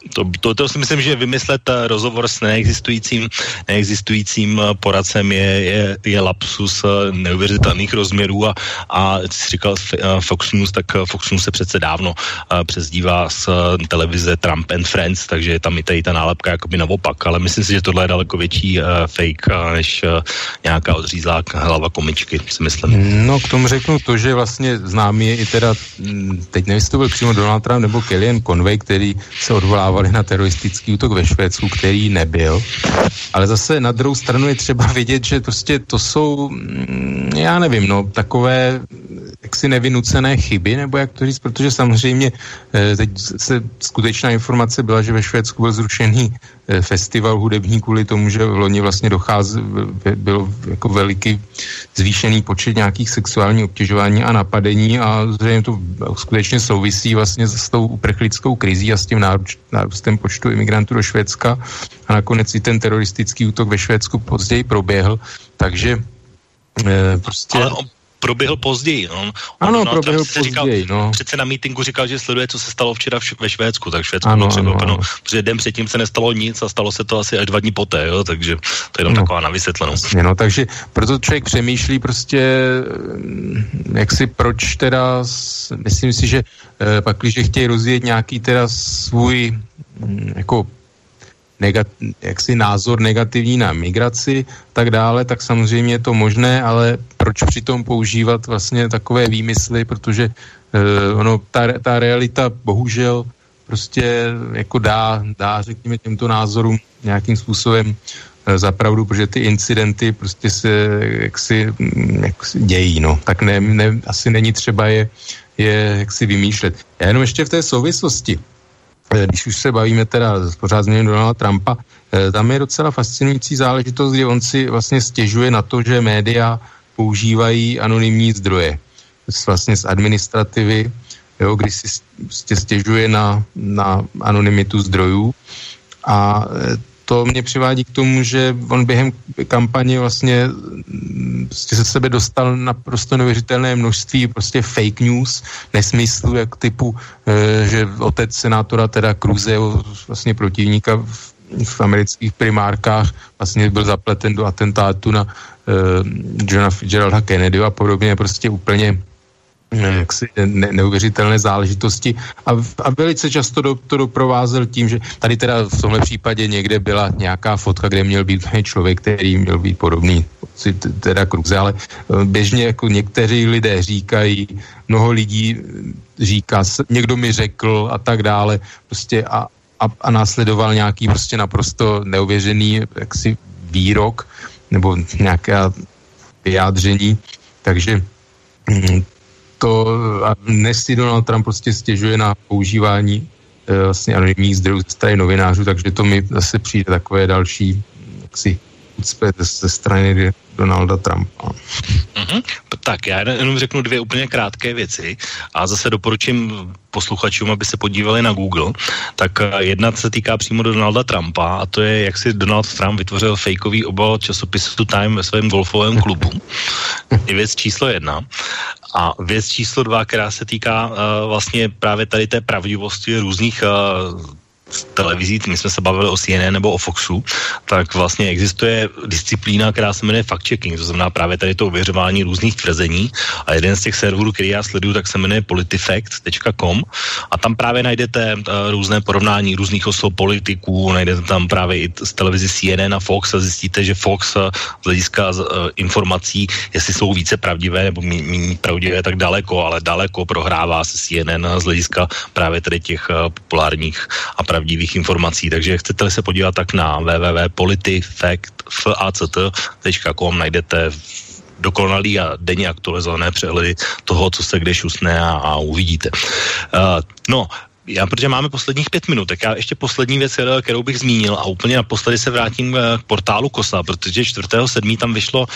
To, to, to si myslím, že vymyslet rozhovor s neexistujícím, neexistujícím poradcem je, je, je lapsus neuvěřitelných rozměrů a, a jsi říkal Fox News, tak Fox News se přece dávno přezdívá z televize Trump and Friends, takže je tam i tady ta nálepka jakoby naopak, ale myslím si, že tohle je daleko větší uh, fake uh, než uh, nějaká odřízlá hlava komičky, si myslím. No k tomu řeknu to, že vlastně známý je i teda, teď nevím, jestli to byl přímo Donald Trump nebo Kellyanne Conway, který se odvolávali na teroristický útok ve Švédsku, který nebyl. Ale zase na druhou stranu je třeba vidět, že prostě to jsou, já nevím, no, takové jaksi nevynucené chyby, nebo jak to říct, protože samozřejmě teď se skutečná informace byla, že ve Švédsku byl zrušený festival hudební kvůli tomu, že v loni vlastně dochází, bylo jako veliký zvýšený počet nějakých sexuálních obtěžování a napadení a zřejmě to skutečně souvisí vlastně s tou uprchlickou krizí a s tím nárůstem počtu imigrantů do Švédska a nakonec i ten teroristický útok ve Švédsku později proběhl, takže e, prostě... Ale on proběhl později. On, ano, on proběhl později, říkal, no. Přece na mítinku říkal, že sleduje, co se stalo včera v, ve Švédsku, tak Švédsku ano, bylo překvapeno, protože den předtím se nestalo nic a stalo se to asi až dva dní poté, jo, takže to je jenom no, taková na vysvětlenou. Jasně, no, takže proto člověk přemýšlí prostě, jak si proč teda, myslím si, že eh, pak, když chtějí rozvíjet nějaký teda svůj hm, jako Negat, jaksi názor negativní na migraci, tak dále, tak samozřejmě je to možné, ale proč přitom používat vlastně takové výmysly, protože uh, ono, ta, ta realita bohužel prostě jako dá, dá, řekněme, těmto názorům nějakým způsobem uh, zapravdu, protože ty incidenty prostě se jaksi, jaksi dějí, no. Tak ne, ne, asi není třeba je, je jaksi vymýšlet. Já jenom ještě v té souvislosti, když už se bavíme teda pořád změním Donalda Trumpa, tam je docela fascinující záležitost, kdy on si vlastně stěžuje na to, že média používají anonymní zdroje. Vlastně z administrativy, jo, kdy si stěžuje na, na anonymitu zdrojů a to mě přivádí k tomu, že on během kampaně vlastně prostě se sebe dostal naprosto neuvěřitelné množství prostě fake news, nesmyslu, jak typu, že otec senátora teda Cruzeho, vlastně protivníka v, v amerických primárkách, vlastně byl zapleten do atentátu na uh, Johna Fitzgeralda Kennedyho a podobně, prostě úplně jaksi ne, neuvěřitelné záležitosti a, a velice často do, to doprovázel tím, že tady teda v tomhle případě někde byla nějaká fotka, kde měl být člověk, který měl být podobný teda Kruze, ale běžně jako někteří lidé říkají, mnoho lidí říká, někdo mi řekl a tak dále, prostě a, a, a následoval nějaký prostě naprosto neuvěřený jaksi výrok nebo nějaké vyjádření, takže to a dnes si Donald Trump prostě stěžuje na používání e, vlastně anonymních zdrojů ze strany novinářů, takže to mi zase přijde takové další jaksi úcpě ze strany Donalda Trumpa. Mm-hmm. Tak já jenom řeknu dvě úplně krátké věci a zase doporučím posluchačům, aby se podívali na Google. Tak jedna se týká přímo Donalda Trumpa a to je, jak si Donald Trump vytvořil fejkový obal časopisu Time ve svém golfovém klubu. Je věc číslo jedna. A věc číslo dva, která se týká uh, vlastně právě tady té pravdivosti různých uh, televizí, my jsme se bavili o C N N nebo o Foxu, tak vlastně existuje disciplína, která se jmenuje fact-checking, to znamená právě tady to ověřování různých tvrzení a jeden z těch serverů, který já sleduju, tak se jmenuje politifact tečka com a tam právě najdete uh, různé porovnání různých osob politiků, najdete tam právě i z televizi C N N a Fox a zjistíte, že Fox uh, z hlediska uh, informací, jestli jsou více pravdivé nebo méně pravdivé, tak daleko, ale daleko prohrává se C N N z hlediska právě tady těch uh, populárních a pravdivých informací, takže chcete-li se podívat tak na w w w tečka politifact tečka com najdete dokonalý a denně aktualizované přehledy toho, co se kde šusne a, a uvidíte. Uh, no, já, protože máme posledních pět minut, tak já ještě poslední věc, kterou bych zmínil a úplně naposledy se vrátím k portálu Kosa, protože čtvrtého sedmého tam vyšlo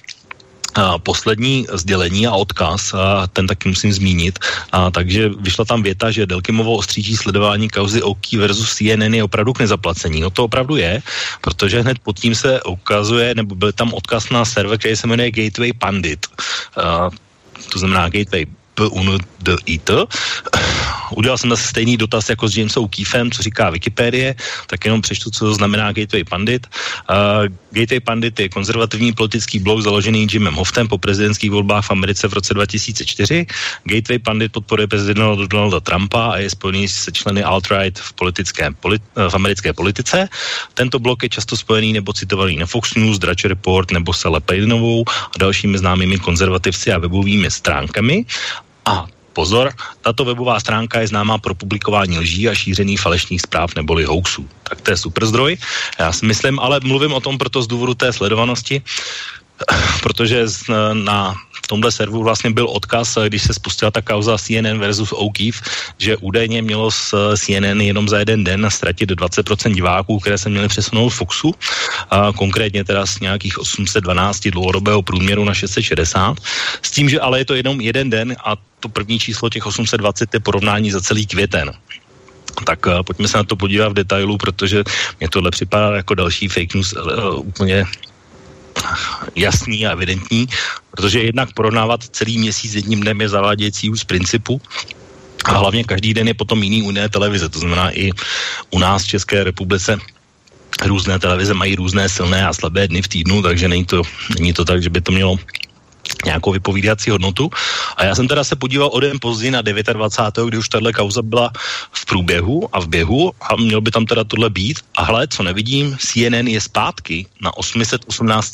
a poslední sdělení a odkaz, a ten taky musím zmínit, a takže vyšla tam věta, že Delkimovo ostříží sledování kauzy Oki versus C N N je opravdu k nezaplacení. No to opravdu je, protože hned pod tím se ukazuje, nebo byl tam odkaz na server, který se jmenuje Gateway Pandit. A to znamená Gateway P U N D I T, udělal jsem zase stejný dotaz jako s Jamesem O'Keefem, co říká Wikipedie, tak jenom přečtu, co znamená Gateway Pundit. Uh, Gateway Pundit je konzervativní politický blog založený Jimem Hoftem po prezidentských volbách v Americe v roce dva tisíce čtyři. Gateway Pundit podporuje prezidenta Donalda Trumpa a je spojený se členy alt-right v, politické, v americké politice. Tento blog je často spojený nebo citovaný na Fox News, Drudge Report nebo Sally Paydonovou a dalšími známými konzervativci a webovými stránkami. A pozor, tato webová stránka je známá pro publikování lží a šíření falešných zpráv neboli hoaxů. Tak to je super zdroj. Já si myslím, ale mluvím o tom proto z důvodu té sledovanosti, protože na tomhle serveru vlastně byl odkaz, když se spustila ta kauza C N N versus O'Keefe, že údajně mělo z C N N jenom za jeden den ztratit dvacet procent diváků, které se měly přesunout Foxu, a konkrétně teda z nějakých osm set dvanáct dlouhodobého průměru na šest set šedesát. S tím, že ale je to jenom jeden den a to první číslo těch osm set dvacet je porovnání za celý květen. Tak uh, pojďme se na to podívat v detailu, protože mě tohle připadá jako další fake news uh, úplně jasný a evidentní, protože jednak porovnávat celý měsíc jedním dnem je zavádějící už z principu a hlavně každý den je potom jiný u jiné televize, to znamená i u nás v České republice různé televize mají různé silné a slabé dny v týdnu, takže není to, není to tak, že by to mělo nějakou vypovídací hodnotu. A já jsem teda se podíval o den později na dvacátého devátého kdy už tahle kauza byla v průběhu a v běhu a měl by tam teda tohle být. A hle, co nevidím, C N N je zpátky na osm set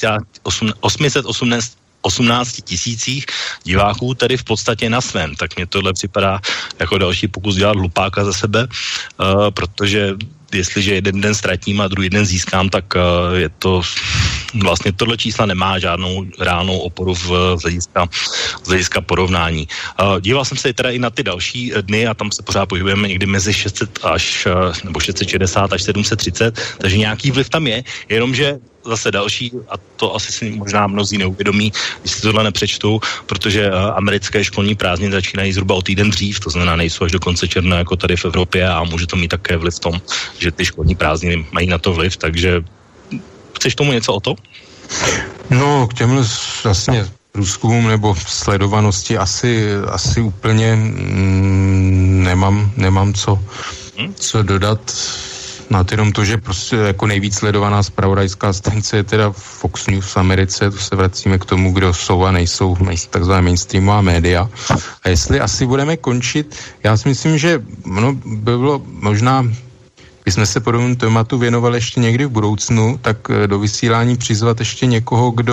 osmnáct tisících diváků, tedy v podstatě na svém. Tak mě tohle připadá jako další pokus dělat hlupáka za sebe, uh, protože jestliže jeden den ztratím a druhý den získám, tak uh, je to vlastně tohle čísla nemá žádnou reálnou oporu v hlediska, z hlediska porovnání. Uh, díval jsem se teda i na ty další dny a tam se pořád pohybujeme někdy mezi šest set až, uh, nebo šest set šedesát až sedm set třicet, takže nějaký vliv tam je, jenomže zase další, a to asi si možná mnozí neuvědomí, když si tohle nepřečtou, protože uh, americké školní prázdniny začínají zhruba o týden dřív, to znamená nejsou až do konce června jako tady v Evropě a může to mít také vliv v tom, že ty školní prázdniny mají na to vliv, takže chceš tomu něco o to? No, k těm vlastně průzkumům nebo sledovanosti asi, asi úplně mm, nemám, nemám co, hmm? co dodat. Na to jenom to, že prostě jako nejvíc sledovaná zpravodajská stanice je teda Fox News v Americe, to se vracíme k tomu, kdo jsou a nejsou takzvané mainstreamová média. A jestli asi budeme končit, já si myslím, že no, by bylo možná, když jsme se podobnému tématu věnovali ještě někdy v budoucnu, tak do vysílání přizvat ještě někoho, kdo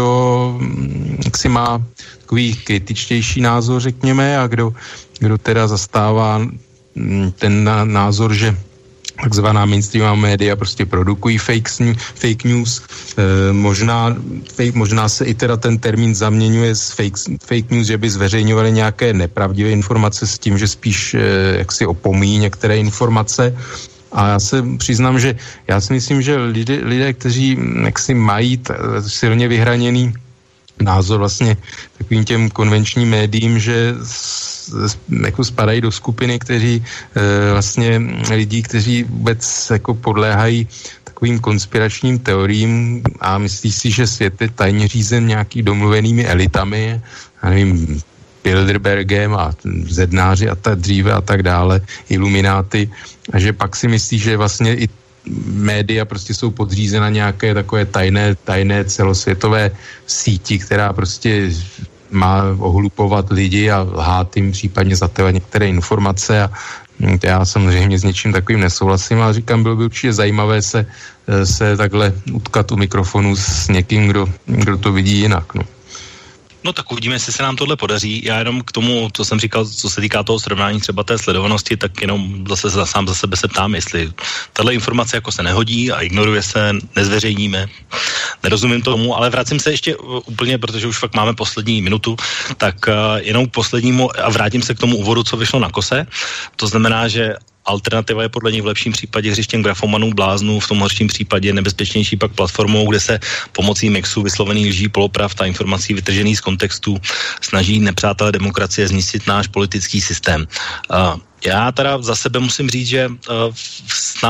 si má takový kritičtější názor, řekněme, a kdo, kdo teda zastává ten názor, že takzvaná mainstreamová média prostě produkují fake, fake news. E, možná, fake, možná se i teda ten termín zaměňuje z fake, fake news, že by zveřejňovali nějaké nepravdivé informace s tím, že spíš e, jaksi opomíjí některé informace. A já se přiznám, že já si myslím, že lidé, lidé kteří jaksi mají t, silně vyhraněný názor vlastně takovým těm konvenčním médiím, že jako spadají do skupiny, kteří e, vlastně lidí, kteří vůbec jako podléhají takovým konspiračním teoriím a myslí si, že svět je tajně řízen nějaký domluvenými elitami, já nevím, Bilderbergem a zednáři a tak dříve a tak dále, ilumináty, a že pak si myslí, že vlastně i média prostě jsou podřízena nějaké takové tajné, tajné celosvětové síti, která prostě má ohlupovat lidi a lhát jim, případně zatajovat některé informace a já samozřejmě s něčím takovým nesouhlasím, ale říkám, bylo by určitě zajímavé se, se takhle utkat u mikrofonu s někým, kdo, kdo to vidí jinak, no. No tak uvidíme, jestli se nám tohle podaří. Já jenom k tomu, co jsem říkal, co se týká toho srovnání třeba té sledovanosti, tak jenom zase za, sám za sebe se ptám, jestli tahle informace jako se nehodí a ignoruje se, nezveřejníme. Nerozumím tomu, ale vracím se ještě úplně, protože už fakt máme poslední minutu, tak uh, jenom k poslednímu a vrátím se k tomu úvodu, co vyšlo na Kose. To znamená, že alternativa je podle nich v lepším případě hřištěm grafomanů, bláznů, v tom horším případě nebezpečnější pak platformou, kde se pomocí mixu vyslovených lží, polopravd a informací vytržených z kontextu snaží nepřátelé demokracie zničit náš politický systém. Uh, já teda za sebe musím říct, že uh, snad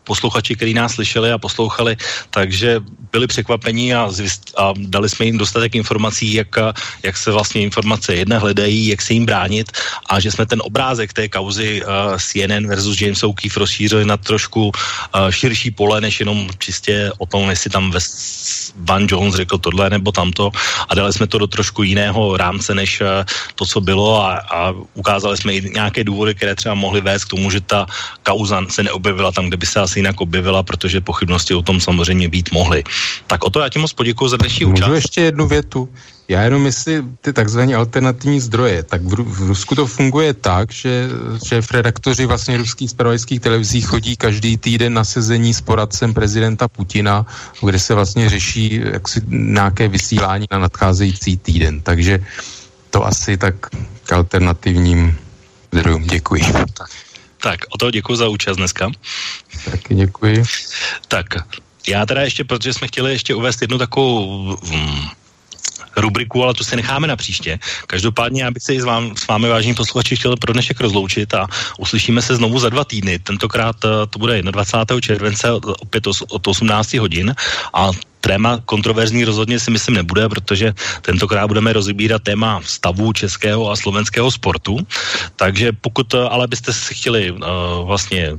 posluchači, kteří nás slyšeli a poslouchali, takže byli překvapení a, zvist, a dali jsme jim dostatek informací, jak, jak se vlastně informace jedna hledají, jak se jim bránit a že jsme ten obrázek té kauzy uh, C N N versus James O'Keefe rozšířili na trošku uh, širší pole, než jenom čistě o tom, jestli tam West Van Jones řekl tohle nebo tamto a dali jsme to do trošku jiného rámce, než uh, to, co bylo a, a ukázali jsme i nějaké důvody, které třeba mohly vést k tomu, že ta kauza se neobjevila tam, kde by se asi jinak objevila, protože pochybnosti o tom samozřejmě být mohly. Tak o to já ti moc poděkuji za dnešní účast. Můžu ještě jednu větu? Já jenom jestli ty takzvané alternativní zdroje, tak v, v Rusku to funguje tak, že šéfredaktoři vlastně ruských zpravodajských televizí chodí každý týden na sezení s poradcem prezidenta Putina, kde se vlastně řeší jaksi nějaké vysílání na nadcházející týden. Takže to asi tak k alternativním zdrojům. Děkuji. Tak, tak o to děkuji za účast dneska. Taky děkuji. Tak, já teda ještě, protože jsme chtěli ještě uvést jednu takovou hm, rubriku, ale to si necháme na příště. Každopádně já bych se i s, vám, s vámi, vážení posluchači, chtěl pro dnešek rozloučit a uslyšíme se znovu za dva týdny. Tentokrát to bude dvacátého prvního července opět od osmnácti hodin a téma kontroverzní rozhodně si myslím nebude, protože tentokrát budeme rozbírat téma stavu českého a slovenského sportu. Takže pokud ale byste si chtěli uh, vlastně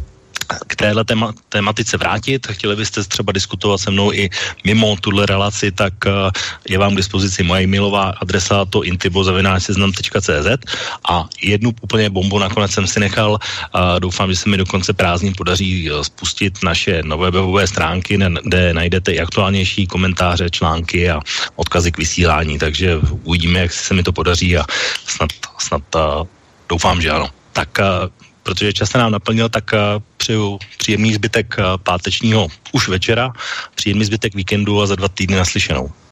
k téhle téma, tématice vrátit, chtěli byste třeba diskutovat se mnou i mimo tuhle relaci, tak uh, je vám k dispozici moje e-mailová adresa to intibo zavináč seznam tečka cé zet a jednu úplně bombu nakonec jsem si nechal. Uh, doufám, že se mi do konce prázdnin podaří uh, spustit naše nové webové stránky, kde najdete i aktuálnější komentáře, články a odkazy k vysílání, takže uvidíme, jak se mi to podaří a snad, snad uh, doufám, že ano. Tak uh, protože čas se nám naplnil, tak uh, přeju příjemný zbytek uh, pátečního už večera, příjemný zbytek víkendu a za dva týdny naslyšenou.